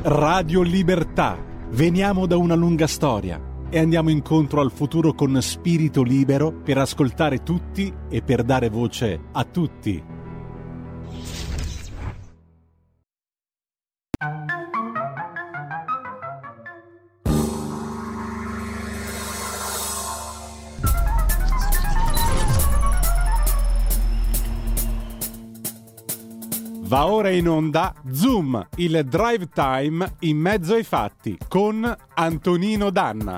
Radio Libertà. Veniamo da una lunga storia e andiamo incontro al futuro con spirito libero per ascoltare tutti e per dare voce a tutti. Va ora in onda Zoom, il drive time in mezzo ai fatti con Antonino Danna.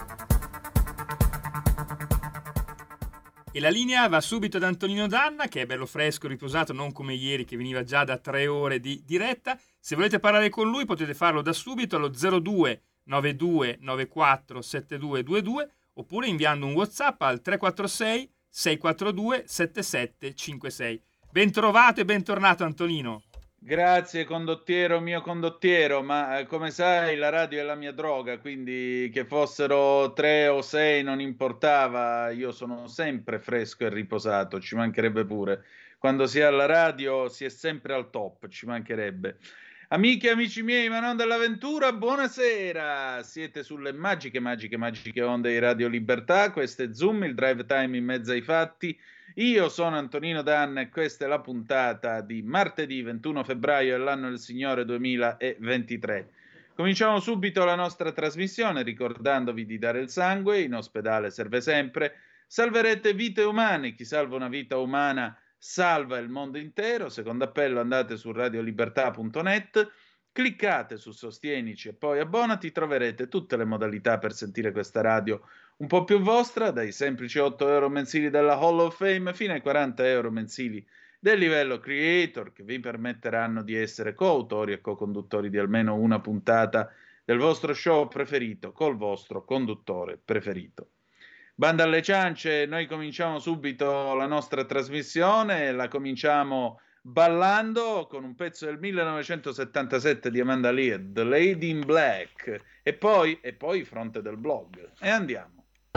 E la linea va subito ad Antonino Danna, che è bello fresco, riposato, non come ieri che veniva già da 3 ore di diretta. Se volete parlare con lui potete farlo da subito allo 02 92 94 7222 oppure inviando un WhatsApp al 346 642 7756. Ben trovato e bentornato Antonino. Grazie condottiero, mio condottiero, ma come sai la radio è la mia droga, quindi che fossero 3 o 6 non importava, io sono sempre fresco e riposato, ci mancherebbe pure. Quando si è alla radio si è sempre al top, ci mancherebbe. Amiche e amici miei, ma non dell'avventura, buonasera! Siete sulle magiche onde di Radio Libertà, questo è Zoom, il drive time in mezzo ai fatti. Io sono Antonino Danna e questa è la puntata di martedì 21 febbraio dell'anno del Signore 2023. Cominciamo subito la nostra trasmissione ricordandovi di dare il sangue, in ospedale serve sempre, salverete vite umane, chi salva una vita umana salva il mondo intero. Secondo appello andate su radiolibertà.net, cliccate su Sostienici e poi abbonati, troverete tutte le modalità per sentire questa radio un po' più vostra, dai semplici 8 euro mensili della Hall of Fame fino ai 40 euro mensili del livello Creator, che vi permetteranno di essere coautori e co-conduttori di almeno una puntata del vostro show preferito col vostro conduttore preferito. Banda alle ciance, noi cominciamo subito la nostra trasmissione, la cominciamo ballando con un pezzo del 1977 di Amanda Lear, The Lady in Black, e poi Fronte del blog, e andiamo.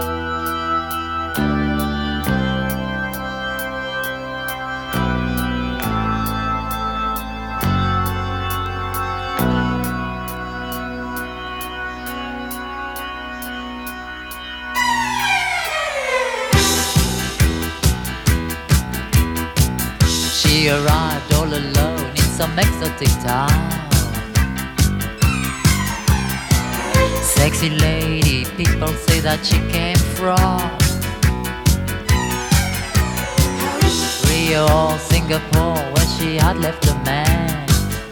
She arrived all alone in some exotic town. Sexy lady, people say that she came from Rio or Singapore, where she had left a man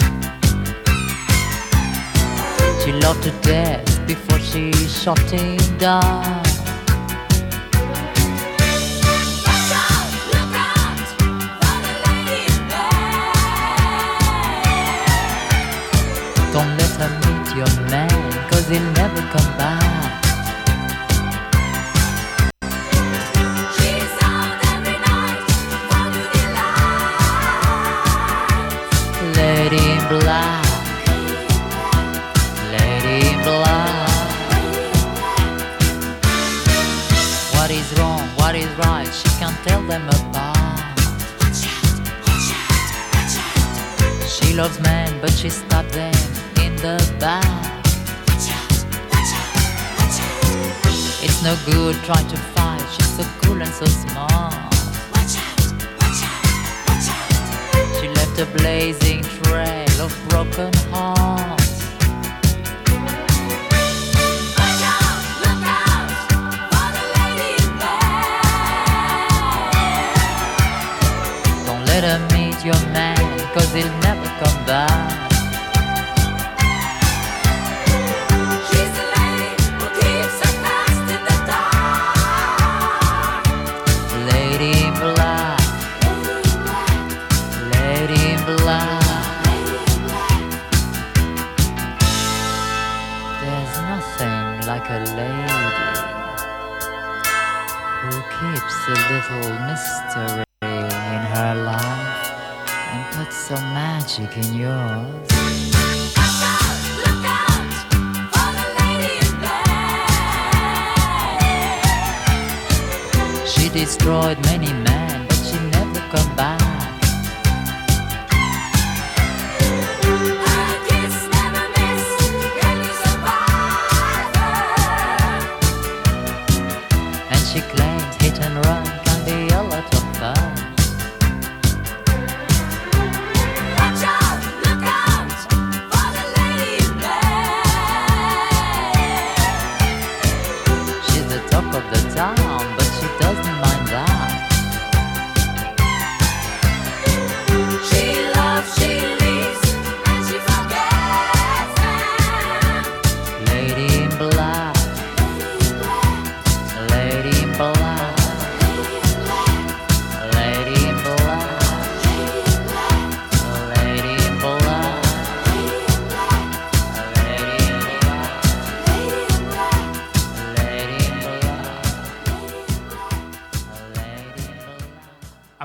she loved to death before she shot him down. Don't let her meet your man, 'cause he'll never come back. She's out every night for new delight. Lady in black, lady in black. What is wrong, what is right, she can't tell them apart. She loves men, but she stabbed them in the back. It's no good trying to fight, she's so cool and so smart. She left a blazing trail of broken hearts. Look out for the lady in black. Don't let her meet your man, 'cause he'll never come back. She's the lady who keeps her past in the dark. Lady in black, lady in black. There's nothing like a lady who keeps a little mystery in her life and puts some magic in yours. Look out for the lady in black. She destroyed many men, but she never come back. Her kiss never miss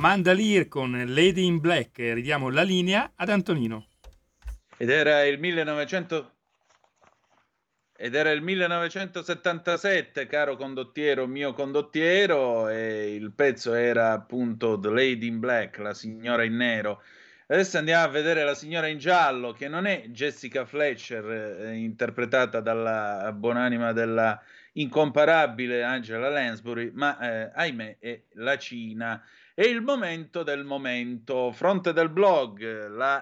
Amanda Lear con Lady in Black. Ridiamo la linea ad Antonino. Ed era il 1977, caro condottiero, mio condottiero, e il pezzo era appunto The Lady in Black, la signora in nero. Adesso andiamo a vedere la signora in giallo, che non è Jessica Fletcher, interpretata dalla buonanima della incomparabile Angela Lansbury, ma ahimè è la Cina. È il momento del momento. Fronte del blog, la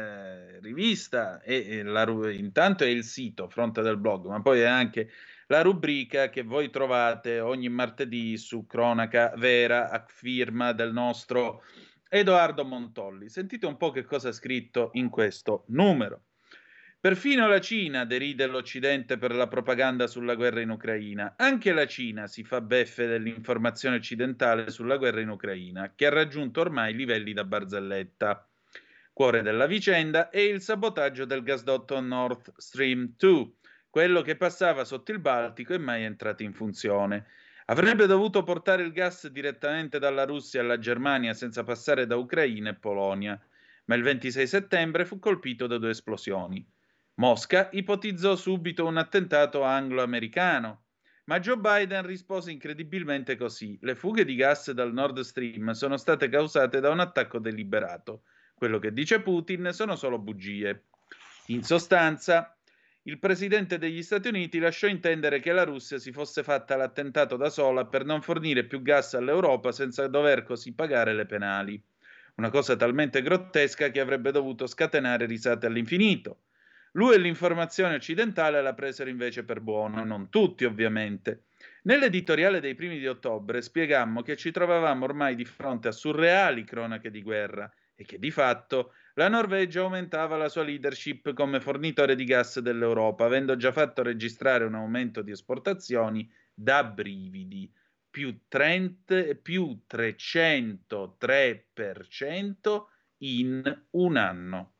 rivista intanto è il sito Fronte del blog, ma poi è anche la rubrica che voi trovate ogni martedì su Cronaca Vera a firma del nostro Edoardo Montolli. Sentite un po' che cosa ha scritto in questo numero. Perfino la Cina deride l'Occidente per la propaganda sulla guerra in Ucraina. Anche la Cina si fa beffe dell'informazione occidentale sulla guerra in Ucraina, che ha raggiunto ormai livelli da barzelletta. Cuore della vicenda è il sabotaggio del gasdotto Nord Stream 2, quello che passava sotto il Baltico e mai è entrato in funzione. Avrebbe dovuto portare il gas direttamente dalla Russia alla Germania senza passare da Ucraina e Polonia, ma il 26 settembre fu colpito da 2 esplosioni. Mosca ipotizzò subito un attentato anglo-americano, ma Joe Biden rispose incredibilmente così: le fughe di gas dal Nord Stream sono state causate da un attacco deliberato. Quello che dice Putin sono solo bugie. In sostanza, il presidente degli Stati Uniti lasciò intendere che la Russia si fosse fatta l'attentato da sola per non fornire più gas all'Europa senza dover così pagare le penali. Una cosa talmente grottesca che avrebbe dovuto scatenare risate all'infinito. Lui e l'informazione occidentale la presero invece per buono, non tutti ovviamente. Nell'editoriale dei primi di ottobre spiegammo che ci trovavamo ormai di fronte a surreali cronache di guerra e che di fatto la Norvegia aumentava la sua leadership come fornitore di gas dell'Europa, avendo già fatto registrare un aumento di esportazioni da brividi, più 303% in un anno.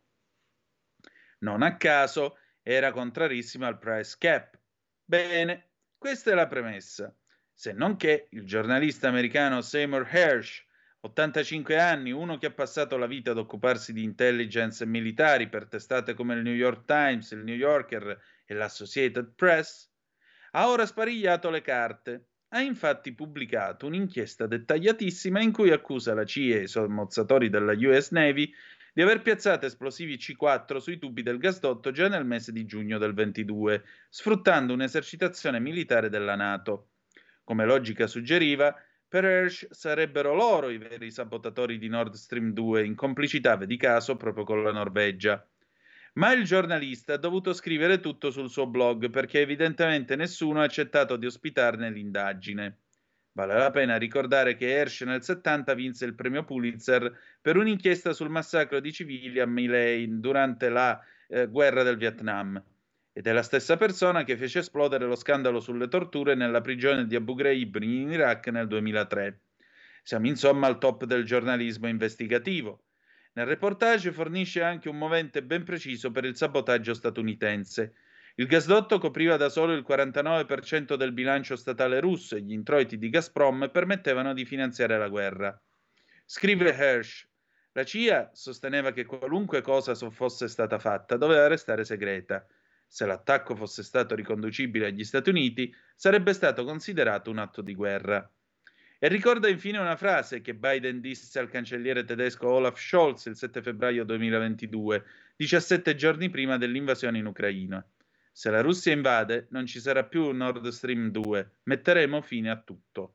Non a caso era contrarissima al price cap. Bene, questa è la premessa. Se non che il giornalista americano Seymour Hersh, 85 anni, uno che ha passato la vita ad occuparsi di intelligence militari per testate come il New York Times, il New Yorker e l'Associated Press, ha ora sparigliato le carte. Ha infatti pubblicato un'inchiesta dettagliatissima in cui accusa la CIA e i sommozzatori della US Navy di aver piazzato esplosivi C4 sui tubi del gasdotto già nel mese di giugno del 22, sfruttando un'esercitazione militare della NATO. Come logica suggeriva, per Hersh sarebbero loro i veri sabotatori di Nord Stream 2, in complicità, vedi caso, proprio con la Norvegia. Ma il giornalista ha dovuto scrivere tutto sul suo blog perché evidentemente nessuno ha accettato di ospitarne l'indagine. Vale la pena ricordare che Hersh nel 70 vinse il premio Pulitzer per un'inchiesta sul massacro di civili a My Lai durante la guerra del Vietnam. Ed è la stessa persona che fece esplodere lo scandalo sulle torture nella prigione di Abu Ghraib in Iraq nel 2003. Siamo insomma al top del giornalismo investigativo. Nel reportage fornisce anche un movente ben preciso per il sabotaggio statunitense. Il gasdotto copriva da solo il 49% del bilancio statale russo e gli introiti di Gazprom permettevano di finanziare la guerra. Scrive Hersh: la CIA sosteneva che qualunque cosa fosse stata fatta doveva restare segreta. Se l'attacco fosse stato riconducibile agli Stati Uniti, sarebbe stato considerato un atto di guerra. E ricorda infine una frase che Biden disse al cancelliere tedesco Olaf Scholz il 7 febbraio 2022, 17 giorni prima dell'invasione in Ucraina. Se la Russia invade, non ci sarà più Nord Stream 2, metteremo fine a tutto.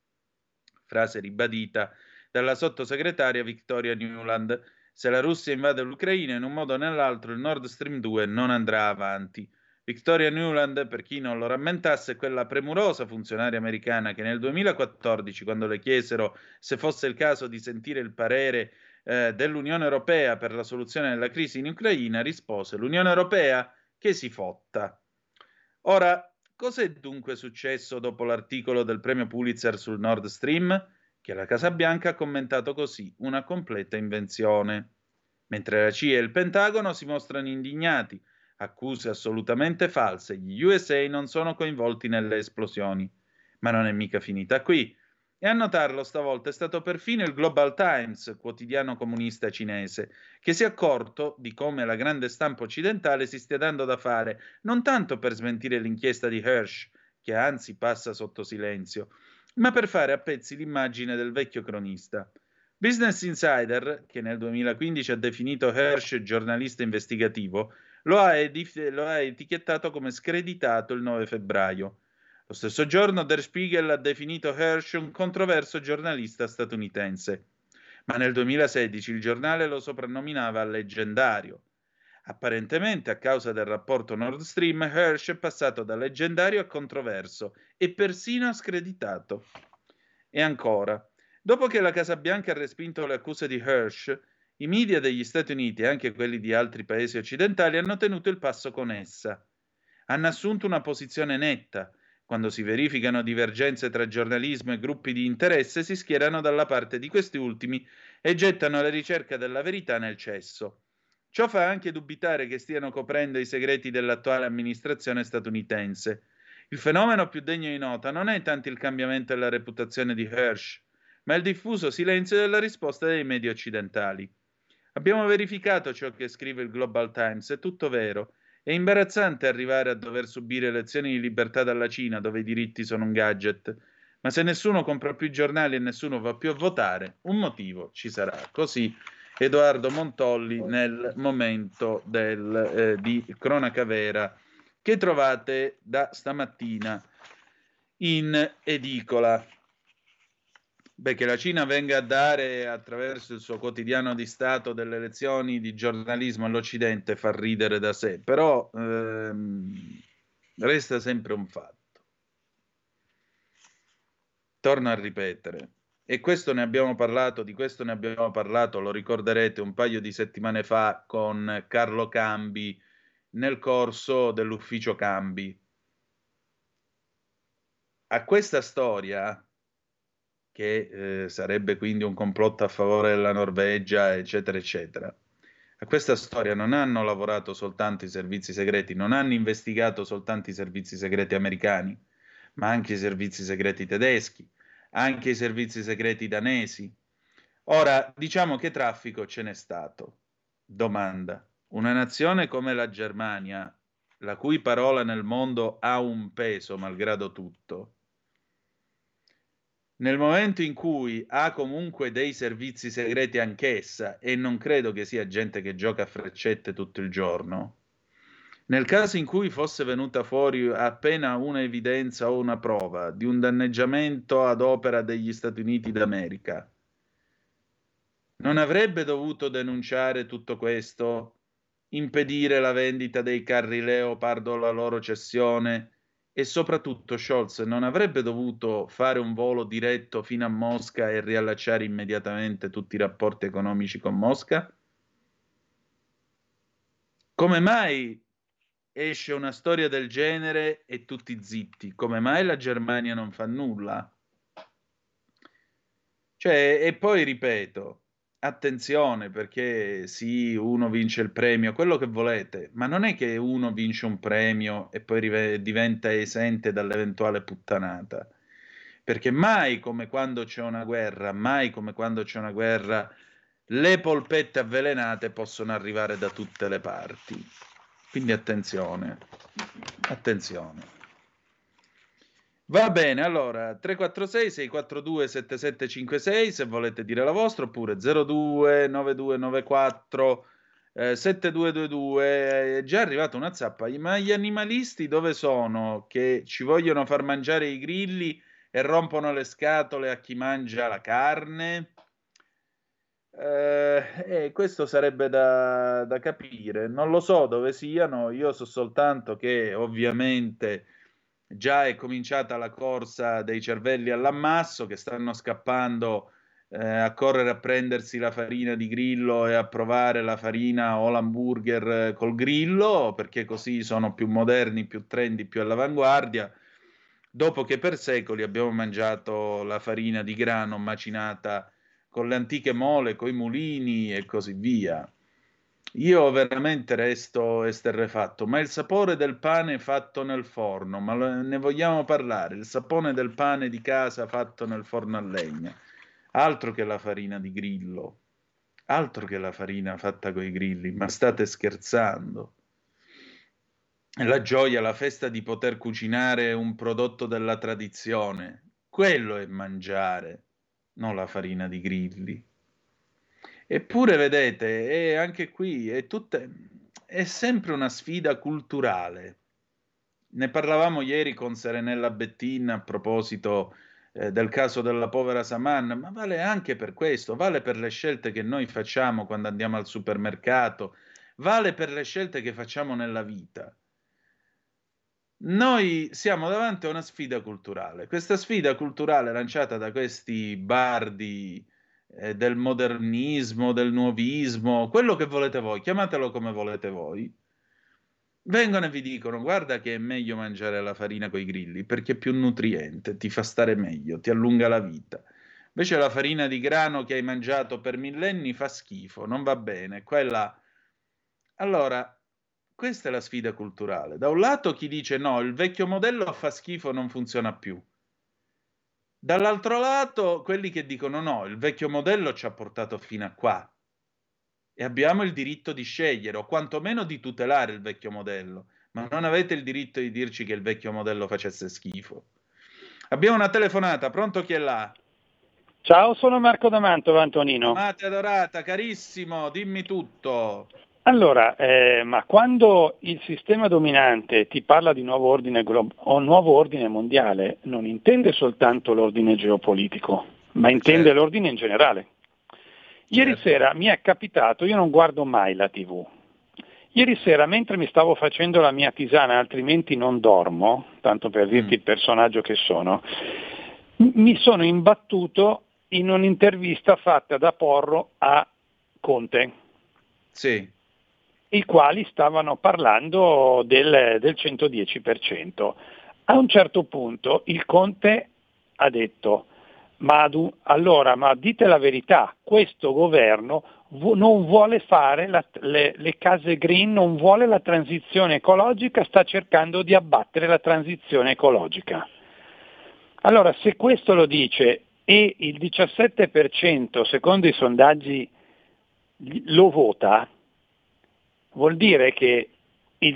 Frase ribadita dalla sottosegretaria Victoria Nuland. Se la Russia invade l'Ucraina, in un modo o nell'altro il Nord Stream 2 non andrà avanti. Victoria Nuland, per chi non lo rammentasse, è quella premurosa funzionaria americana che nel 2014, quando le chiesero se fosse il caso di sentire il parere dell'Unione Europea per la soluzione della crisi in Ucraina, rispose: l'Unione Europea che si fotta. Ora, cos'è dunque successo dopo l'articolo del premio Pulitzer sul Nord Stream? Che la Casa Bianca ha commentato così: una completa invenzione. Mentre la CIA e il Pentagono si mostrano indignati, accuse assolutamente false, gli USA non sono coinvolti nelle esplosioni. Ma non è mica finita qui. E a notarlo stavolta è stato perfino il Global Times, quotidiano comunista cinese, che si è accorto di come la grande stampa occidentale si stia dando da fare, non tanto per smentire l'inchiesta di Hersh, che anzi passa sotto silenzio, ma per fare a pezzi l'immagine del vecchio cronista. Business Insider, che nel 2015 ha definito Hersh giornalista investigativo, lo ha etichettato come screditato il 9 febbraio. Lo stesso giorno Der Spiegel ha definito Hersh un controverso giornalista statunitense, ma nel 2016 il giornale lo soprannominava leggendario. Apparentemente, a causa del rapporto Nord Stream, Hersh è passato da leggendario a controverso e persino a screditato. E ancora, dopo che la Casa Bianca ha respinto le accuse di Hersh, i media degli Stati Uniti e anche quelli di altri paesi occidentali hanno tenuto il passo con essa. Hanno assunto una posizione netta. Quando si verificano divergenze tra giornalismo e gruppi di interesse, si schierano dalla parte di questi ultimi e gettano la ricerca della verità nel cesso. Ciò fa anche dubitare che stiano coprendo i segreti dell'attuale amministrazione statunitense. Il fenomeno più degno di nota non è tanto il cambiamento della reputazione di Hersh, ma il diffuso silenzio della risposta dei media occidentali. Abbiamo verificato ciò che scrive il Global Times, è tutto vero. È imbarazzante arrivare a dover subire lezioni di libertà dalla Cina, dove i diritti sono un gadget. Ma se nessuno compra più giornali e nessuno va più a votare, un motivo ci sarà. Così Edoardo Montolli nel momento di cronaca vera che trovate da stamattina in edicola. Beh, che la Cina venga a dare attraverso il suo quotidiano di Stato delle lezioni di giornalismo all'Occidente fa ridere da sé, però resta sempre un fatto. Torno a ripetere, e questo ne abbiamo parlato, di questo ne abbiamo parlato, lo ricorderete, un paio di settimane fa con Carlo Cambi nel corso dell'ufficio Cambi. A questa storia, che sarebbe quindi un complotto a favore della Norvegia, eccetera, eccetera. A questa storia non hanno lavorato soltanto i servizi segreti, non hanno investigato soltanto i servizi segreti americani, ma anche i servizi segreti tedeschi, anche i servizi segreti danesi. Ora, diciamo che traffico ce n'è stato. Domanda: una nazione come la Germania, la cui parola nel mondo ha un peso malgrado tutto, nel momento in cui ha comunque dei servizi segreti anch'essa, e non credo che sia gente che gioca a freccette tutto il giorno, nel caso in cui fosse venuta fuori appena una evidenza o una prova di un danneggiamento ad opera degli Stati Uniti d'America, non avrebbe dovuto denunciare tutto questo, impedire la vendita dei carri Leopard o la loro cessione? E soprattutto Scholz non avrebbe dovuto fare un volo diretto fino a Mosca e riallacciare immediatamente tutti i rapporti economici con Mosca? Come mai esce una storia del genere e tutti zitti? Come mai la Germania non fa nulla? Cioè, e poi ripeto, attenzione, perché sì, uno vince il premio, quello che volete, ma non è che uno vince un premio e poi diventa esente dall'eventuale puttanata. Perché mai come quando c'è una guerra, mai come quando c'è una guerra, le polpette avvelenate possono arrivare da tutte le parti. Quindi attenzione, attenzione. Va bene, allora 346-642-7756 se volete dire la vostra, oppure 029294 7222. È già arrivata una zappa. Ma gli animalisti dove sono? Che ci vogliono far mangiare i grilli e rompono le scatole a chi mangia la carne? Questo sarebbe da capire. Non lo so dove siano, io so soltanto che ovviamente già è cominciata la corsa dei cervelli all'ammasso che stanno scappando a correre a prendersi la farina di grillo e a provare la farina o l'hamburger col grillo, perché così sono più moderni, più trendy, più all'avanguardia, dopo che per secoli abbiamo mangiato la farina di grano macinata con le antiche mole, coi mulini e così via. Io veramente resto esterrefatto, ma il sapore del pane fatto nel forno, ma ne vogliamo parlare? Il sapore del pane di casa fatto nel forno a legna, altro che la farina di grillo, altro che la farina fatta coi grilli, ma state scherzando? È la gioia, la festa di poter cucinare un prodotto della tradizione, quello è mangiare, non la farina di grilli. Eppure, vedete, anche qui è sempre una sfida culturale. Ne parlavamo ieri con Serenella Bettin a proposito del caso della povera Saman, ma vale anche per questo, vale per le scelte che noi facciamo quando andiamo al supermercato, vale per le scelte che facciamo nella vita. Noi siamo davanti a una sfida culturale. Questa sfida culturale lanciata da questi bardi del modernismo, del nuovismo, quello che volete voi, chiamatelo come volete voi, vengono e vi dicono: guarda che è meglio mangiare la farina coi grilli perché è più nutriente, ti fa stare meglio, ti allunga la vita. Invece la farina di grano che hai mangiato per millenni fa schifo, non va bene. Quella... Allora, questa è la sfida culturale. Da un lato chi dice no, il vecchio modello fa schifo, non funziona più. Dall'altro lato quelli che dicono no, il vecchio modello ci ha portato fino a qua e abbiamo il diritto di scegliere o quantomeno di tutelare il vecchio modello, ma non avete il diritto di dirci che il vecchio modello facesse schifo. Abbiamo una telefonata, pronto, chi è là? Ciao, sono Marco da Mantova, Antonino. Amata adorata, carissimo, dimmi tutto. Allora, ma quando il sistema dominante ti parla di nuovo ordine o nuovo ordine mondiale, non intende soltanto l'ordine geopolitico, ma intende Certo. l'ordine in generale. Ieri Certo. sera mi è capitato, io non guardo mai la TV. Ieri sera, mentre mi stavo facendo la mia tisana, altrimenti non dormo, tanto per dirti il personaggio che sono, mi sono imbattuto in un'intervista fatta da Porro a Conte, Sì. i quali stavano parlando del 110%. A un certo punto il Conte ha detto: ma dite la verità, questo governo non vuole fare le case green, non vuole la transizione ecologica, sta cercando di abbattere la transizione ecologica. Allora, se questo lo dice e il 17% secondo i sondaggi lo vota, vuol dire che il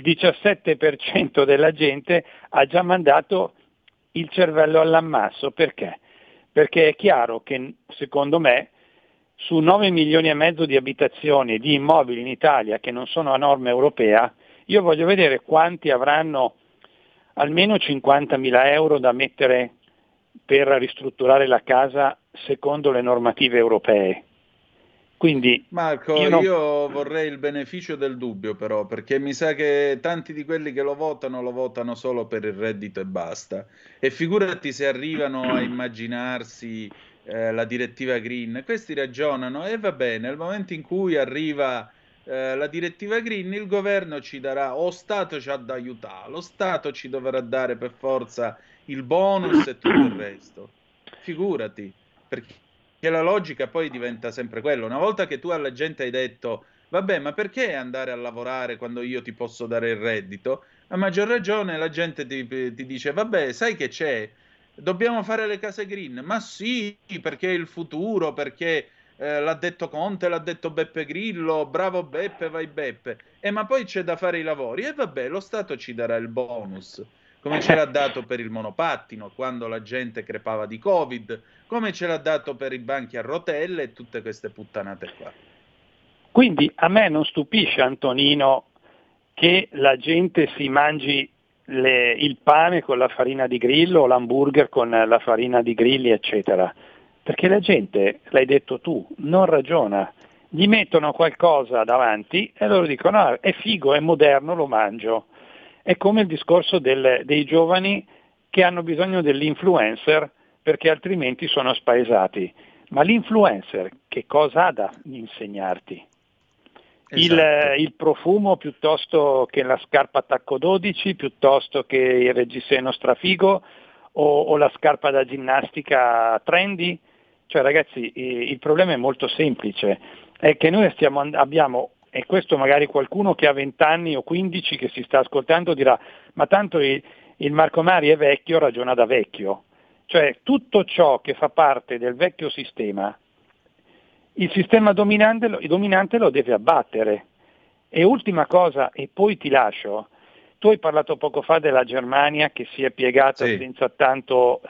17% della gente ha già mandato il cervello all'ammasso. Perché? Perché è chiaro che, secondo me, su 9 milioni e mezzo di abitazioni e di immobili in Italia che non sono a norma europea, io voglio vedere quanti avranno almeno 50.000 euro da mettere per ristrutturare la casa secondo le normative europee. Quindi Marco, io vorrei il beneficio del dubbio però, perché mi sa che tanti di quelli che lo votano solo per il reddito e basta. E figurati se arrivano a immaginarsi la direttiva Green. Questi ragionano e va bene, nel momento in cui arriva la direttiva Green, il governo ci darà, o Stato ci ha da aiutare, lo Stato ci dovrà dare per forza il bonus e tutto il resto. Figurati, perché la logica poi diventa sempre quella. Una volta che tu alla gente hai detto, vabbè, ma perché andare a lavorare quando io ti posso dare il reddito? A maggior ragione la gente ti dice, vabbè, sai che c'è? Dobbiamo fare le case green. Ma sì, perché è il futuro, perché l'ha detto Conte, l'ha detto Beppe Grillo, bravo Beppe, vai Beppe. Ma poi c'è da fare i lavori. E vabbè, lo Stato ci darà il bonus, come ce l'ha dato per il monopattino, quando la gente crepava di Covid, come ce l'ha dato per i banchi a rotelle e tutte queste puttanate qua. Quindi a me non stupisce, Antonino, che la gente si mangi il pane con la farina di grillo o l'hamburger con la farina di grilli, eccetera. Perché la gente, l'hai detto tu, non ragiona. Gli mettono qualcosa davanti e loro dicono ah, è figo, è moderno, lo mangio. È come il discorso dei giovani che hanno bisogno dell'influencer perché altrimenti sono spaesati. Ma l'influencer che cosa ha da insegnarti? Esatto. Il profumo piuttosto che la scarpa tacco 12, piuttosto che il reggiseno strafigo o la scarpa da ginnastica trendy? Cioè ragazzi, il problema è molto semplice, è che noi abbiamo e questo magari qualcuno che ha 20 anni o 15 che si sta ascoltando dirà, ma tanto il Marco Mari è vecchio, ragiona da vecchio. Cioè tutto ciò che fa parte del vecchio sistema, il sistema dominante lo deve abbattere. E ultima cosa, e poi ti lascio, tu hai parlato poco fa della Germania che si è piegata Sì. senza tanto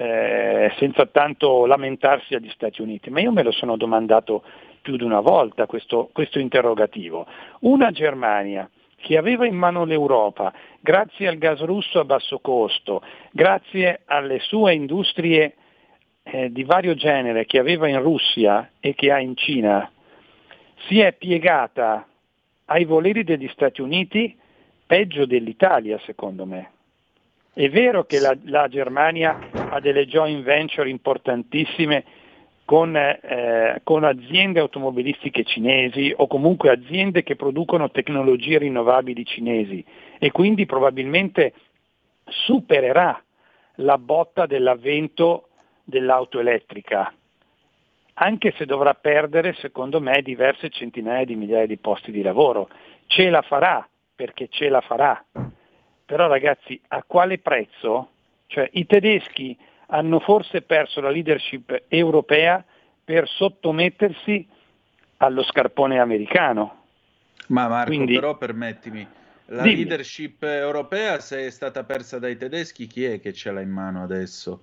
lamentarsi agli Stati Uniti, ma io me lo sono domandato più di una volta questo interrogativo. Una Germania che aveva in mano l'Europa, grazie al gas russo a basso costo, grazie alle sue industrie di vario genere che aveva in Russia e che ha in Cina, si è piegata ai voleri degli Stati Uniti peggio dell'Italia, secondo me. È vero che la Germania ha delle joint venture importantissime con aziende automobilistiche cinesi o comunque aziende che producono tecnologie rinnovabili cinesi e quindi probabilmente supererà la botta dell'avvento dell'auto elettrica, anche se dovrà perdere, secondo me, diverse centinaia di migliaia di posti di lavoro. Ce la farà, perché ce la farà. Però ragazzi, a quale prezzo? Cioè, i tedeschi hanno forse perso la leadership europea per sottomettersi allo scarpone americano. Ma Marco, Quindi, però permettimi, la dimmi. leadership europea, se è stata persa dai tedeschi, chi è che ce l'ha in mano adesso?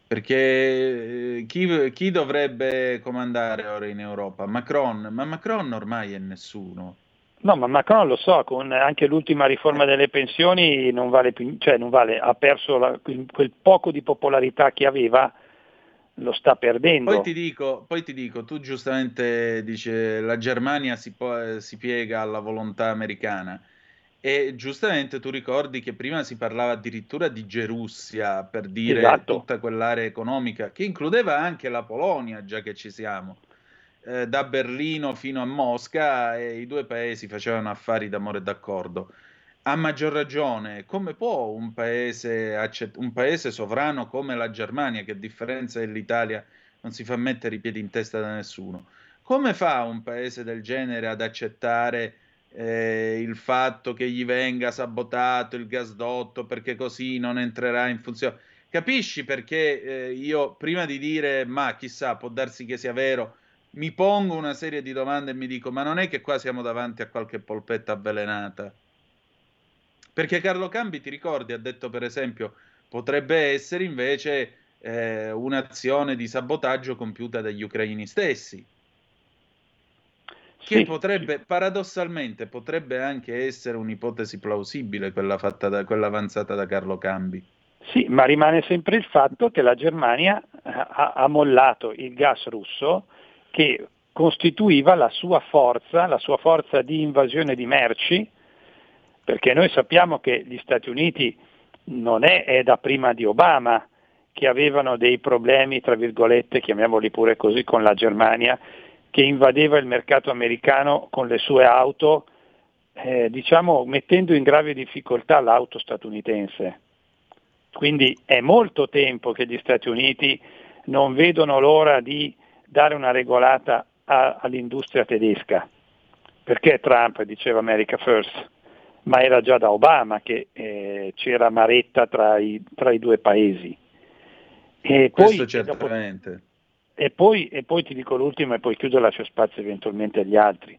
Perché chi dovrebbe comandare ora in Europa? Macron, ma Macron ormai è nessuno. No, ma Macron lo so, con anche l'ultima riforma delle pensioni non vale più, cioè non vale, ha perso quel poco di popolarità che aveva, lo sta perdendo. Poi ti dico, tu giustamente dici la Germania si piega alla volontà americana e giustamente tu ricordi che prima si parlava addirittura di Gerussia per dire Esatto. tutta quell'area economica che includeva anche la Polonia, già che ci siamo. Da Berlino fino a Mosca e i due paesi facevano affari d'amore e d'accordo. A maggior ragione, come può un paese sovrano come la Germania, che a differenza dell'Italia non si fa mettere i piedi in testa da nessuno, come fa un paese del genere ad accettare il fatto che gli venga sabotato il gasdotto perché così non entrerà in funzione? Capisci perché io prima di dire ma chissà, può darsi che sia vero, mi pongo una serie di domande e mi dico ma non è che qua siamo davanti a qualche polpetta avvelenata? Perché Carlo Cambi, ti ricordi, ha detto per esempio, potrebbe essere invece un'azione di sabotaggio compiuta dagli ucraini stessi, che Sì, potrebbe, paradossalmente, potrebbe anche essere un'ipotesi plausibile, quella avanzata da Carlo Cambi. sì, ma rimane sempre il fatto che la Germania ha mollato il gas russo che costituiva la sua forza di invasione di merci, perché noi sappiamo che gli Stati Uniti non è da prima di Obama che avevano dei problemi, tra virgolette, chiamiamoli pure così, con la Germania, che invadeva il mercato americano con le sue auto, diciamo mettendo in grave difficoltà l'auto statunitense. Quindi è molto tempo che gli Stati Uniti non vedono l'ora di dare una regolata all'industria tedesca, perché Trump diceva America First, ma era già da Obama che c'era maretta tra i due paesi. E Questo poi, certamente. e poi ti dico l'ultimo e poi chiudo e lascio spazio eventualmente agli altri.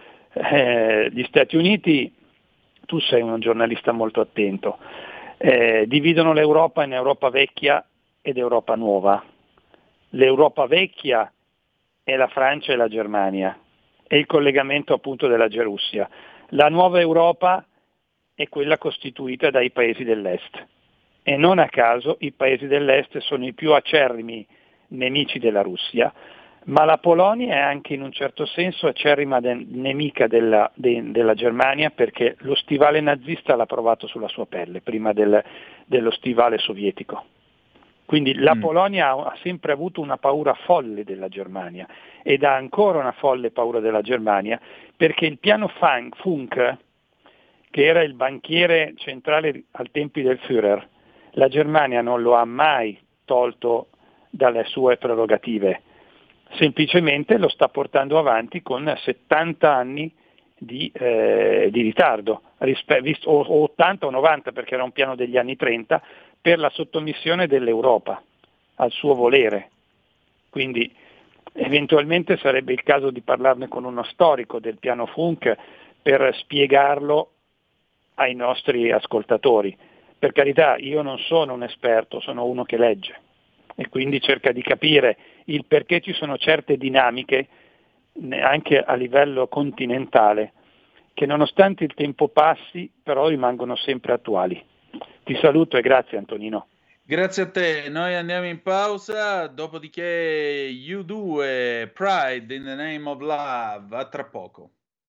Gli Stati Uniti, tu sei un giornalista molto attento, dividono l'Europa in Europa vecchia ed Europa nuova. L'Europa vecchia è la Francia e la Germania, è il collegamento appunto della Gerussia. La nuova Europa è quella costituita dai paesi dell'Est e non a caso i paesi dell'Est sono i più acerrimi nemici della Russia, ma la Polonia è anche in un certo senso acerrima nemica della Germania perché lo stivale nazista l'ha provato sulla sua pelle prima dello stivale sovietico. Quindi la Polonia ha sempre avuto una paura folle della Germania ed ha ancora una folle paura della Germania perché il piano Funk, che era il banchiere centrale al tempi del Führer, la Germania non lo ha mai tolto dalle sue prerogative, semplicemente lo sta portando avanti con 70 anni di ritardo, o 80 o 90 perché era un piano degli anni 30, per la sottomissione dell'Europa al suo volere. Quindi eventualmente sarebbe il caso di parlarne con uno storico del piano Funk per spiegarlo ai nostri ascoltatori. Per carità, io non sono un esperto, sono uno che legge e quindi cerca di capire il perché ci sono certe dinamiche anche a livello continentale che nonostante il tempo passi però rimangono sempre attuali. Ti saluto e grazie Antonino. Grazie a te, noi andiamo in pausa, dopodiché U2, Pride in the Name of Love, a tra poco.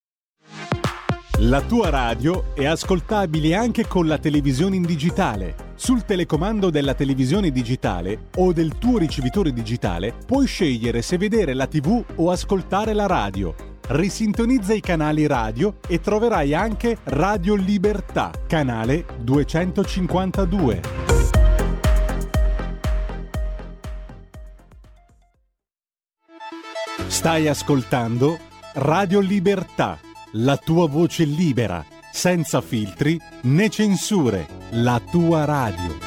La tua radio è ascoltabile anche con la televisione in digitale. Sul telecomando della televisione digitale o del tuo ricevitore digitale puoi scegliere se vedere la TV o ascoltare la radio. Risintonizza i canali radio e troverai anche Radio Libertà, canale 252. Stai ascoltando Radio Libertà, la tua voce libera, senza filtri né censure, la tua radio.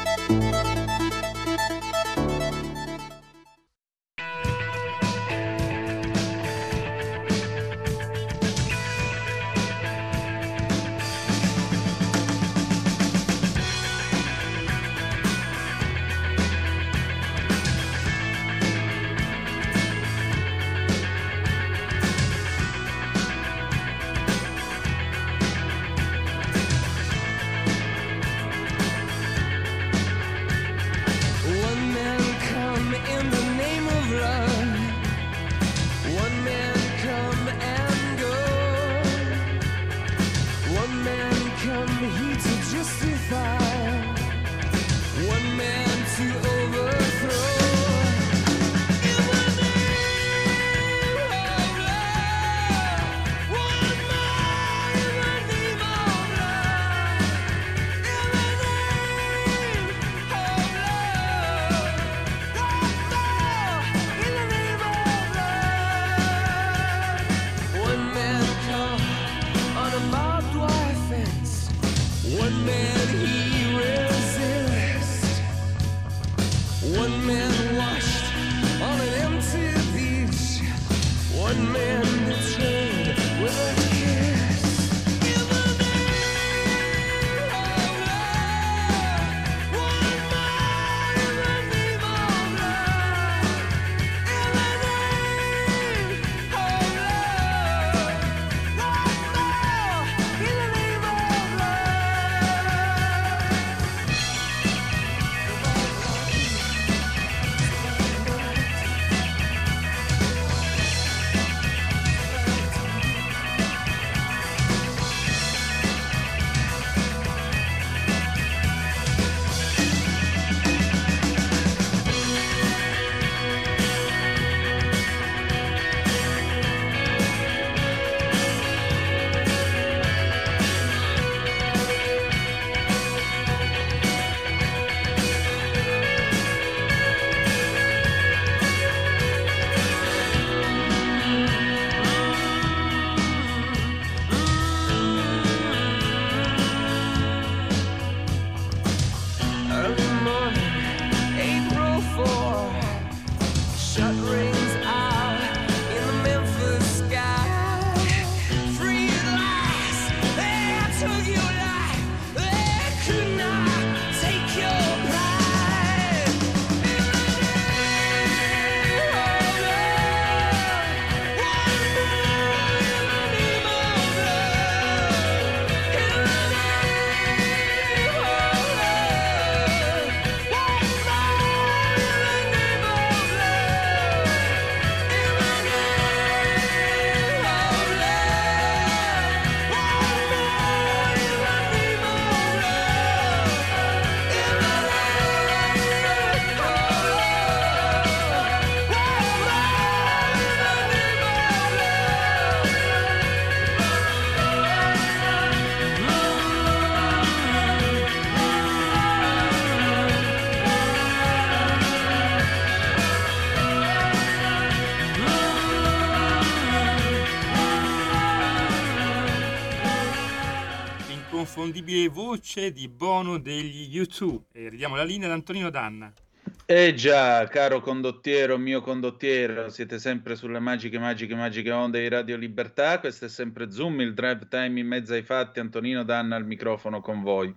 l'inconfondibile voce di Bono degli U2. E ridiamo la linea ad Antonino Danna. Eh già, caro condottiero, mio condottiero, siete sempre sulle magiche onde di Radio Libertà. Questo è sempre Zoom, il drive time in mezzo ai fatti. Antonino Danna al microfono con voi.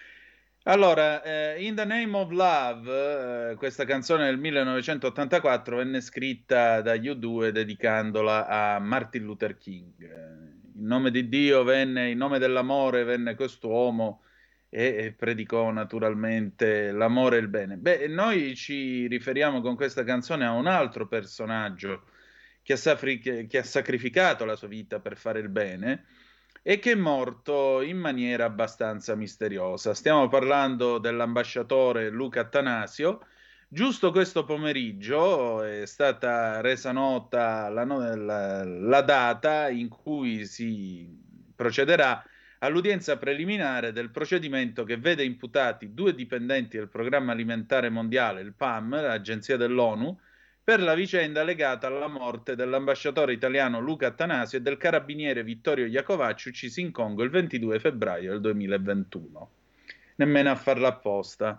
Allora, In the Name of Love, questa canzone del 1984 venne scritta dagli U2 dedicandola a Martin Luther King. In nome di Dio venne, in nome dell'amore venne quest'uomo e predicò naturalmente l'amore e il bene. Beh, noi ci riferiamo con questa canzone a un altro personaggio che ha sacrificato la sua vita per fare il bene e che è morto in maniera abbastanza misteriosa. Stiamo parlando dell'ambasciatore Luca Attanasio. Giusto questo pomeriggio è stata resa nota la data in cui si procederà all'udienza preliminare del procedimento che vede imputati 2 dipendenti del Programma Alimentare Mondiale, il PAM, l'agenzia dell'ONU, per la vicenda legata alla morte dell'ambasciatore italiano Luca Attanasio e del carabiniere Vittorio Iacovacci, uccisi in Congo il 22 febbraio del 2021. Nemmeno a farla apposta.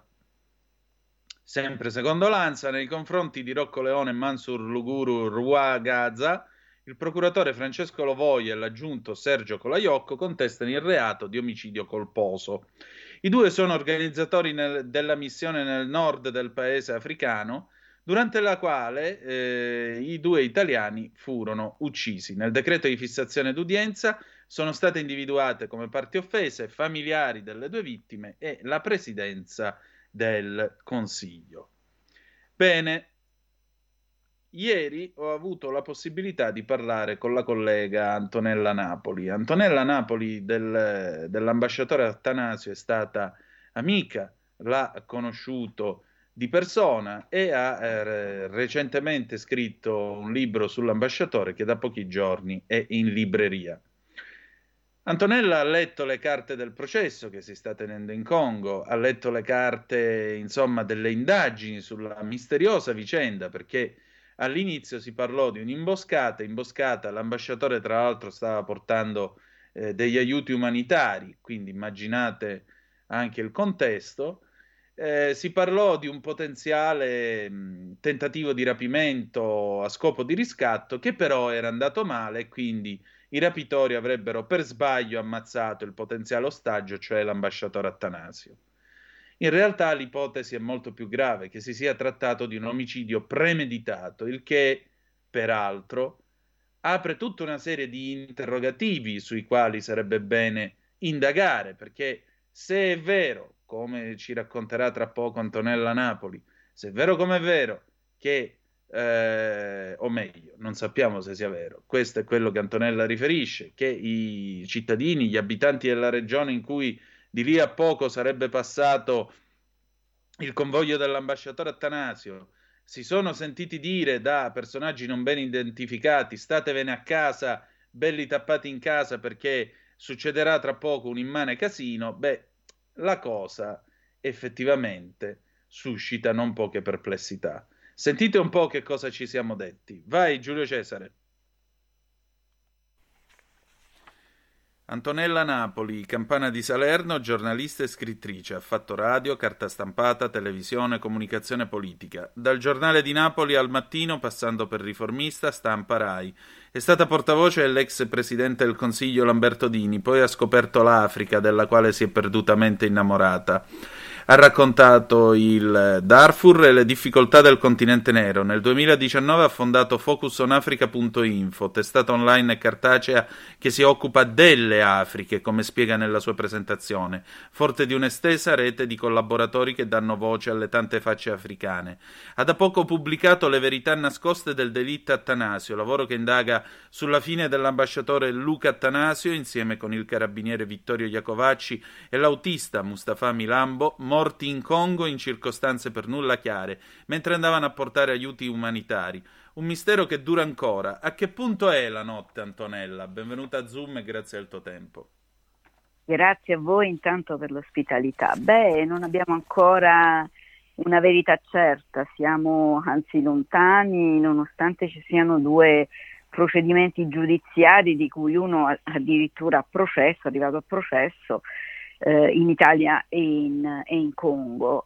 Sempre secondo l'ANSA, nei confronti di Rocco Leone e Mansur Luguru Rwagaza, il procuratore Francesco Lovoi e l'aggiunto Sergio Colaiocco contestano il reato di omicidio colposo. I 2 sono organizzatori della missione nel nord del paese africano, durante la quale i 2 italiani furono uccisi. Nel decreto di fissazione d'udienza sono state individuate come parti offese familiari delle 2 vittime e la presidenza del Consiglio. Bene, ieri ho avuto la possibilità di parlare con la collega Antonella Napoli. Antonella Napoli dell'ambasciatore Attanasio è stata amica, l'ha conosciuto di persona e ha recentemente scritto un libro sull'ambasciatore che da pochi giorni è in libreria. Antonella ha letto le carte del processo che si sta tenendo in Congo, ha letto le carte, insomma, delle indagini sulla misteriosa vicenda, perché all'inizio si parlò di un'imboscata, l'ambasciatore tra l'altro stava portando degli aiuti umanitari, quindi immaginate anche il contesto. Si parlò di un potenziale tentativo di rapimento a scopo di riscatto che però era andato male e quindi i rapitori avrebbero per sbaglio ammazzato il potenziale ostaggio, cioè l'ambasciatore Attanasio. In realtà l'ipotesi è molto più grave, che si sia trattato di un omicidio premeditato, il che, peraltro, apre tutta una serie di interrogativi sui quali sarebbe bene indagare, perché se è vero, come ci racconterà tra poco Antonella Napoli, se è vero come è vero che o meglio, non sappiamo se sia vero, questo è quello che Antonella riferisce, che i cittadini, gli abitanti della regione in cui di lì a poco sarebbe passato il convoglio dell'ambasciatore Attanasio, si sono sentiti dire da personaggi non ben identificati: statevene a casa, belli tappati in casa perché succederà tra poco un immane casino. Beh, la cosa effettivamente suscita non poche perplessità. Sentite un po' che cosa ci siamo detti. Vai Giulio Cesare. Antonella Napoli, campana di Salerno, giornalista e scrittrice, ha fatto radio, carta stampata, televisione, comunicazione politica. Dal Giornale di Napoli al Mattino, passando per Riformista, Stampa, Rai. È stata portavoce dell'ex presidente del Consiglio Lamberto Dini, poi ha scoperto l'Africa, della quale si è perdutamente innamorata. Ha raccontato il Darfur e le difficoltà del continente nero. Nel 2019 ha fondato FocusOnAfrica.info, testata online e cartacea che si occupa delle Afriche, come spiega nella sua presentazione, forte di un'estesa rete di collaboratori che danno voce alle tante facce africane. Ha da poco pubblicato Le verità nascoste del delitto Attanasio, lavoro che indaga sulla fine dell'ambasciatore Luca Attanasio insieme con il carabiniere Vittorio Iacovacci e l'autista Mustafa Milambo, morti in Congo in circostanze per nulla chiare, mentre andavano a portare aiuti umanitari. Un mistero che dura ancora. A che punto è la notte, Antonella? Benvenuta a Zoom e grazie al tuo tempo. Grazie a voi intanto per l'ospitalità. Beh, non abbiamo ancora una verità certa, siamo anzi lontani, nonostante ci siano 2 procedimenti giudiziari di cui uno addirittura a processo, arrivato a processo, in Italia e in Congo.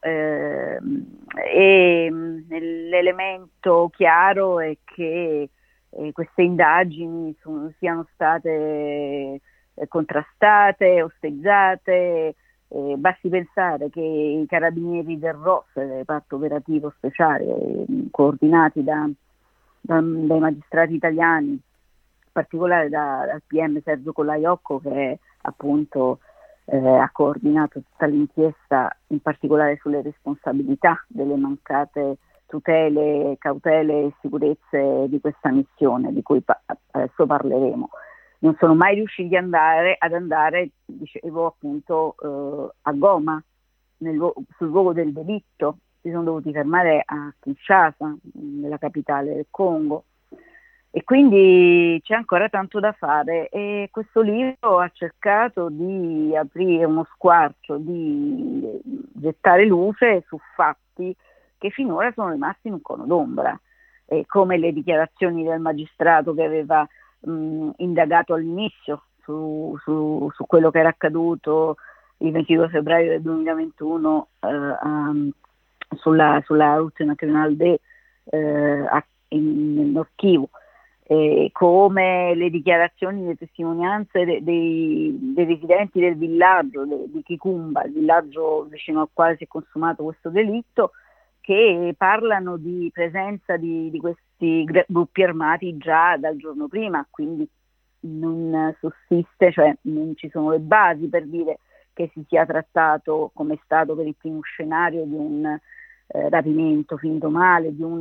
L'elemento chiaro è che queste indagini siano state contrastate, osteggiate. Basti pensare che i carabinieri del ROS, il reparto operativo speciale, coordinati dai magistrati italiani, in particolare dal PM Sergio Colaiocco, che appunto ha coordinato tutta l'inchiesta, in particolare sulle responsabilità delle mancate tutele, cautele e sicurezze di questa missione, di cui adesso parleremo. Non sono mai riusciti ad andare, dicevo appunto, a Goma, sul luogo del delitto. Si sono dovuti fermare a Kinshasa, nella capitale del Congo. E quindi c'è ancora tanto da fare, e questo libro ha cercato di aprire uno squarcio, di gettare luce su fatti che finora sono rimasti in un cono d'ombra, come le dichiarazioni del magistrato che aveva indagato all'inizio su quello che era accaduto il 22 febbraio del 2021 sulla route nationale nel Nord Kivu. Come le dichiarazioni, le testimonianze dei residenti del villaggio di Kikumba, il villaggio vicino al quale si è consumato questo delitto, che parlano di presenza di questi gruppi armati già dal giorno prima, quindi non sussiste, cioè non ci sono le basi per dire che si sia trattato, come è stato per il primo scenario, di un rapimento finito male, di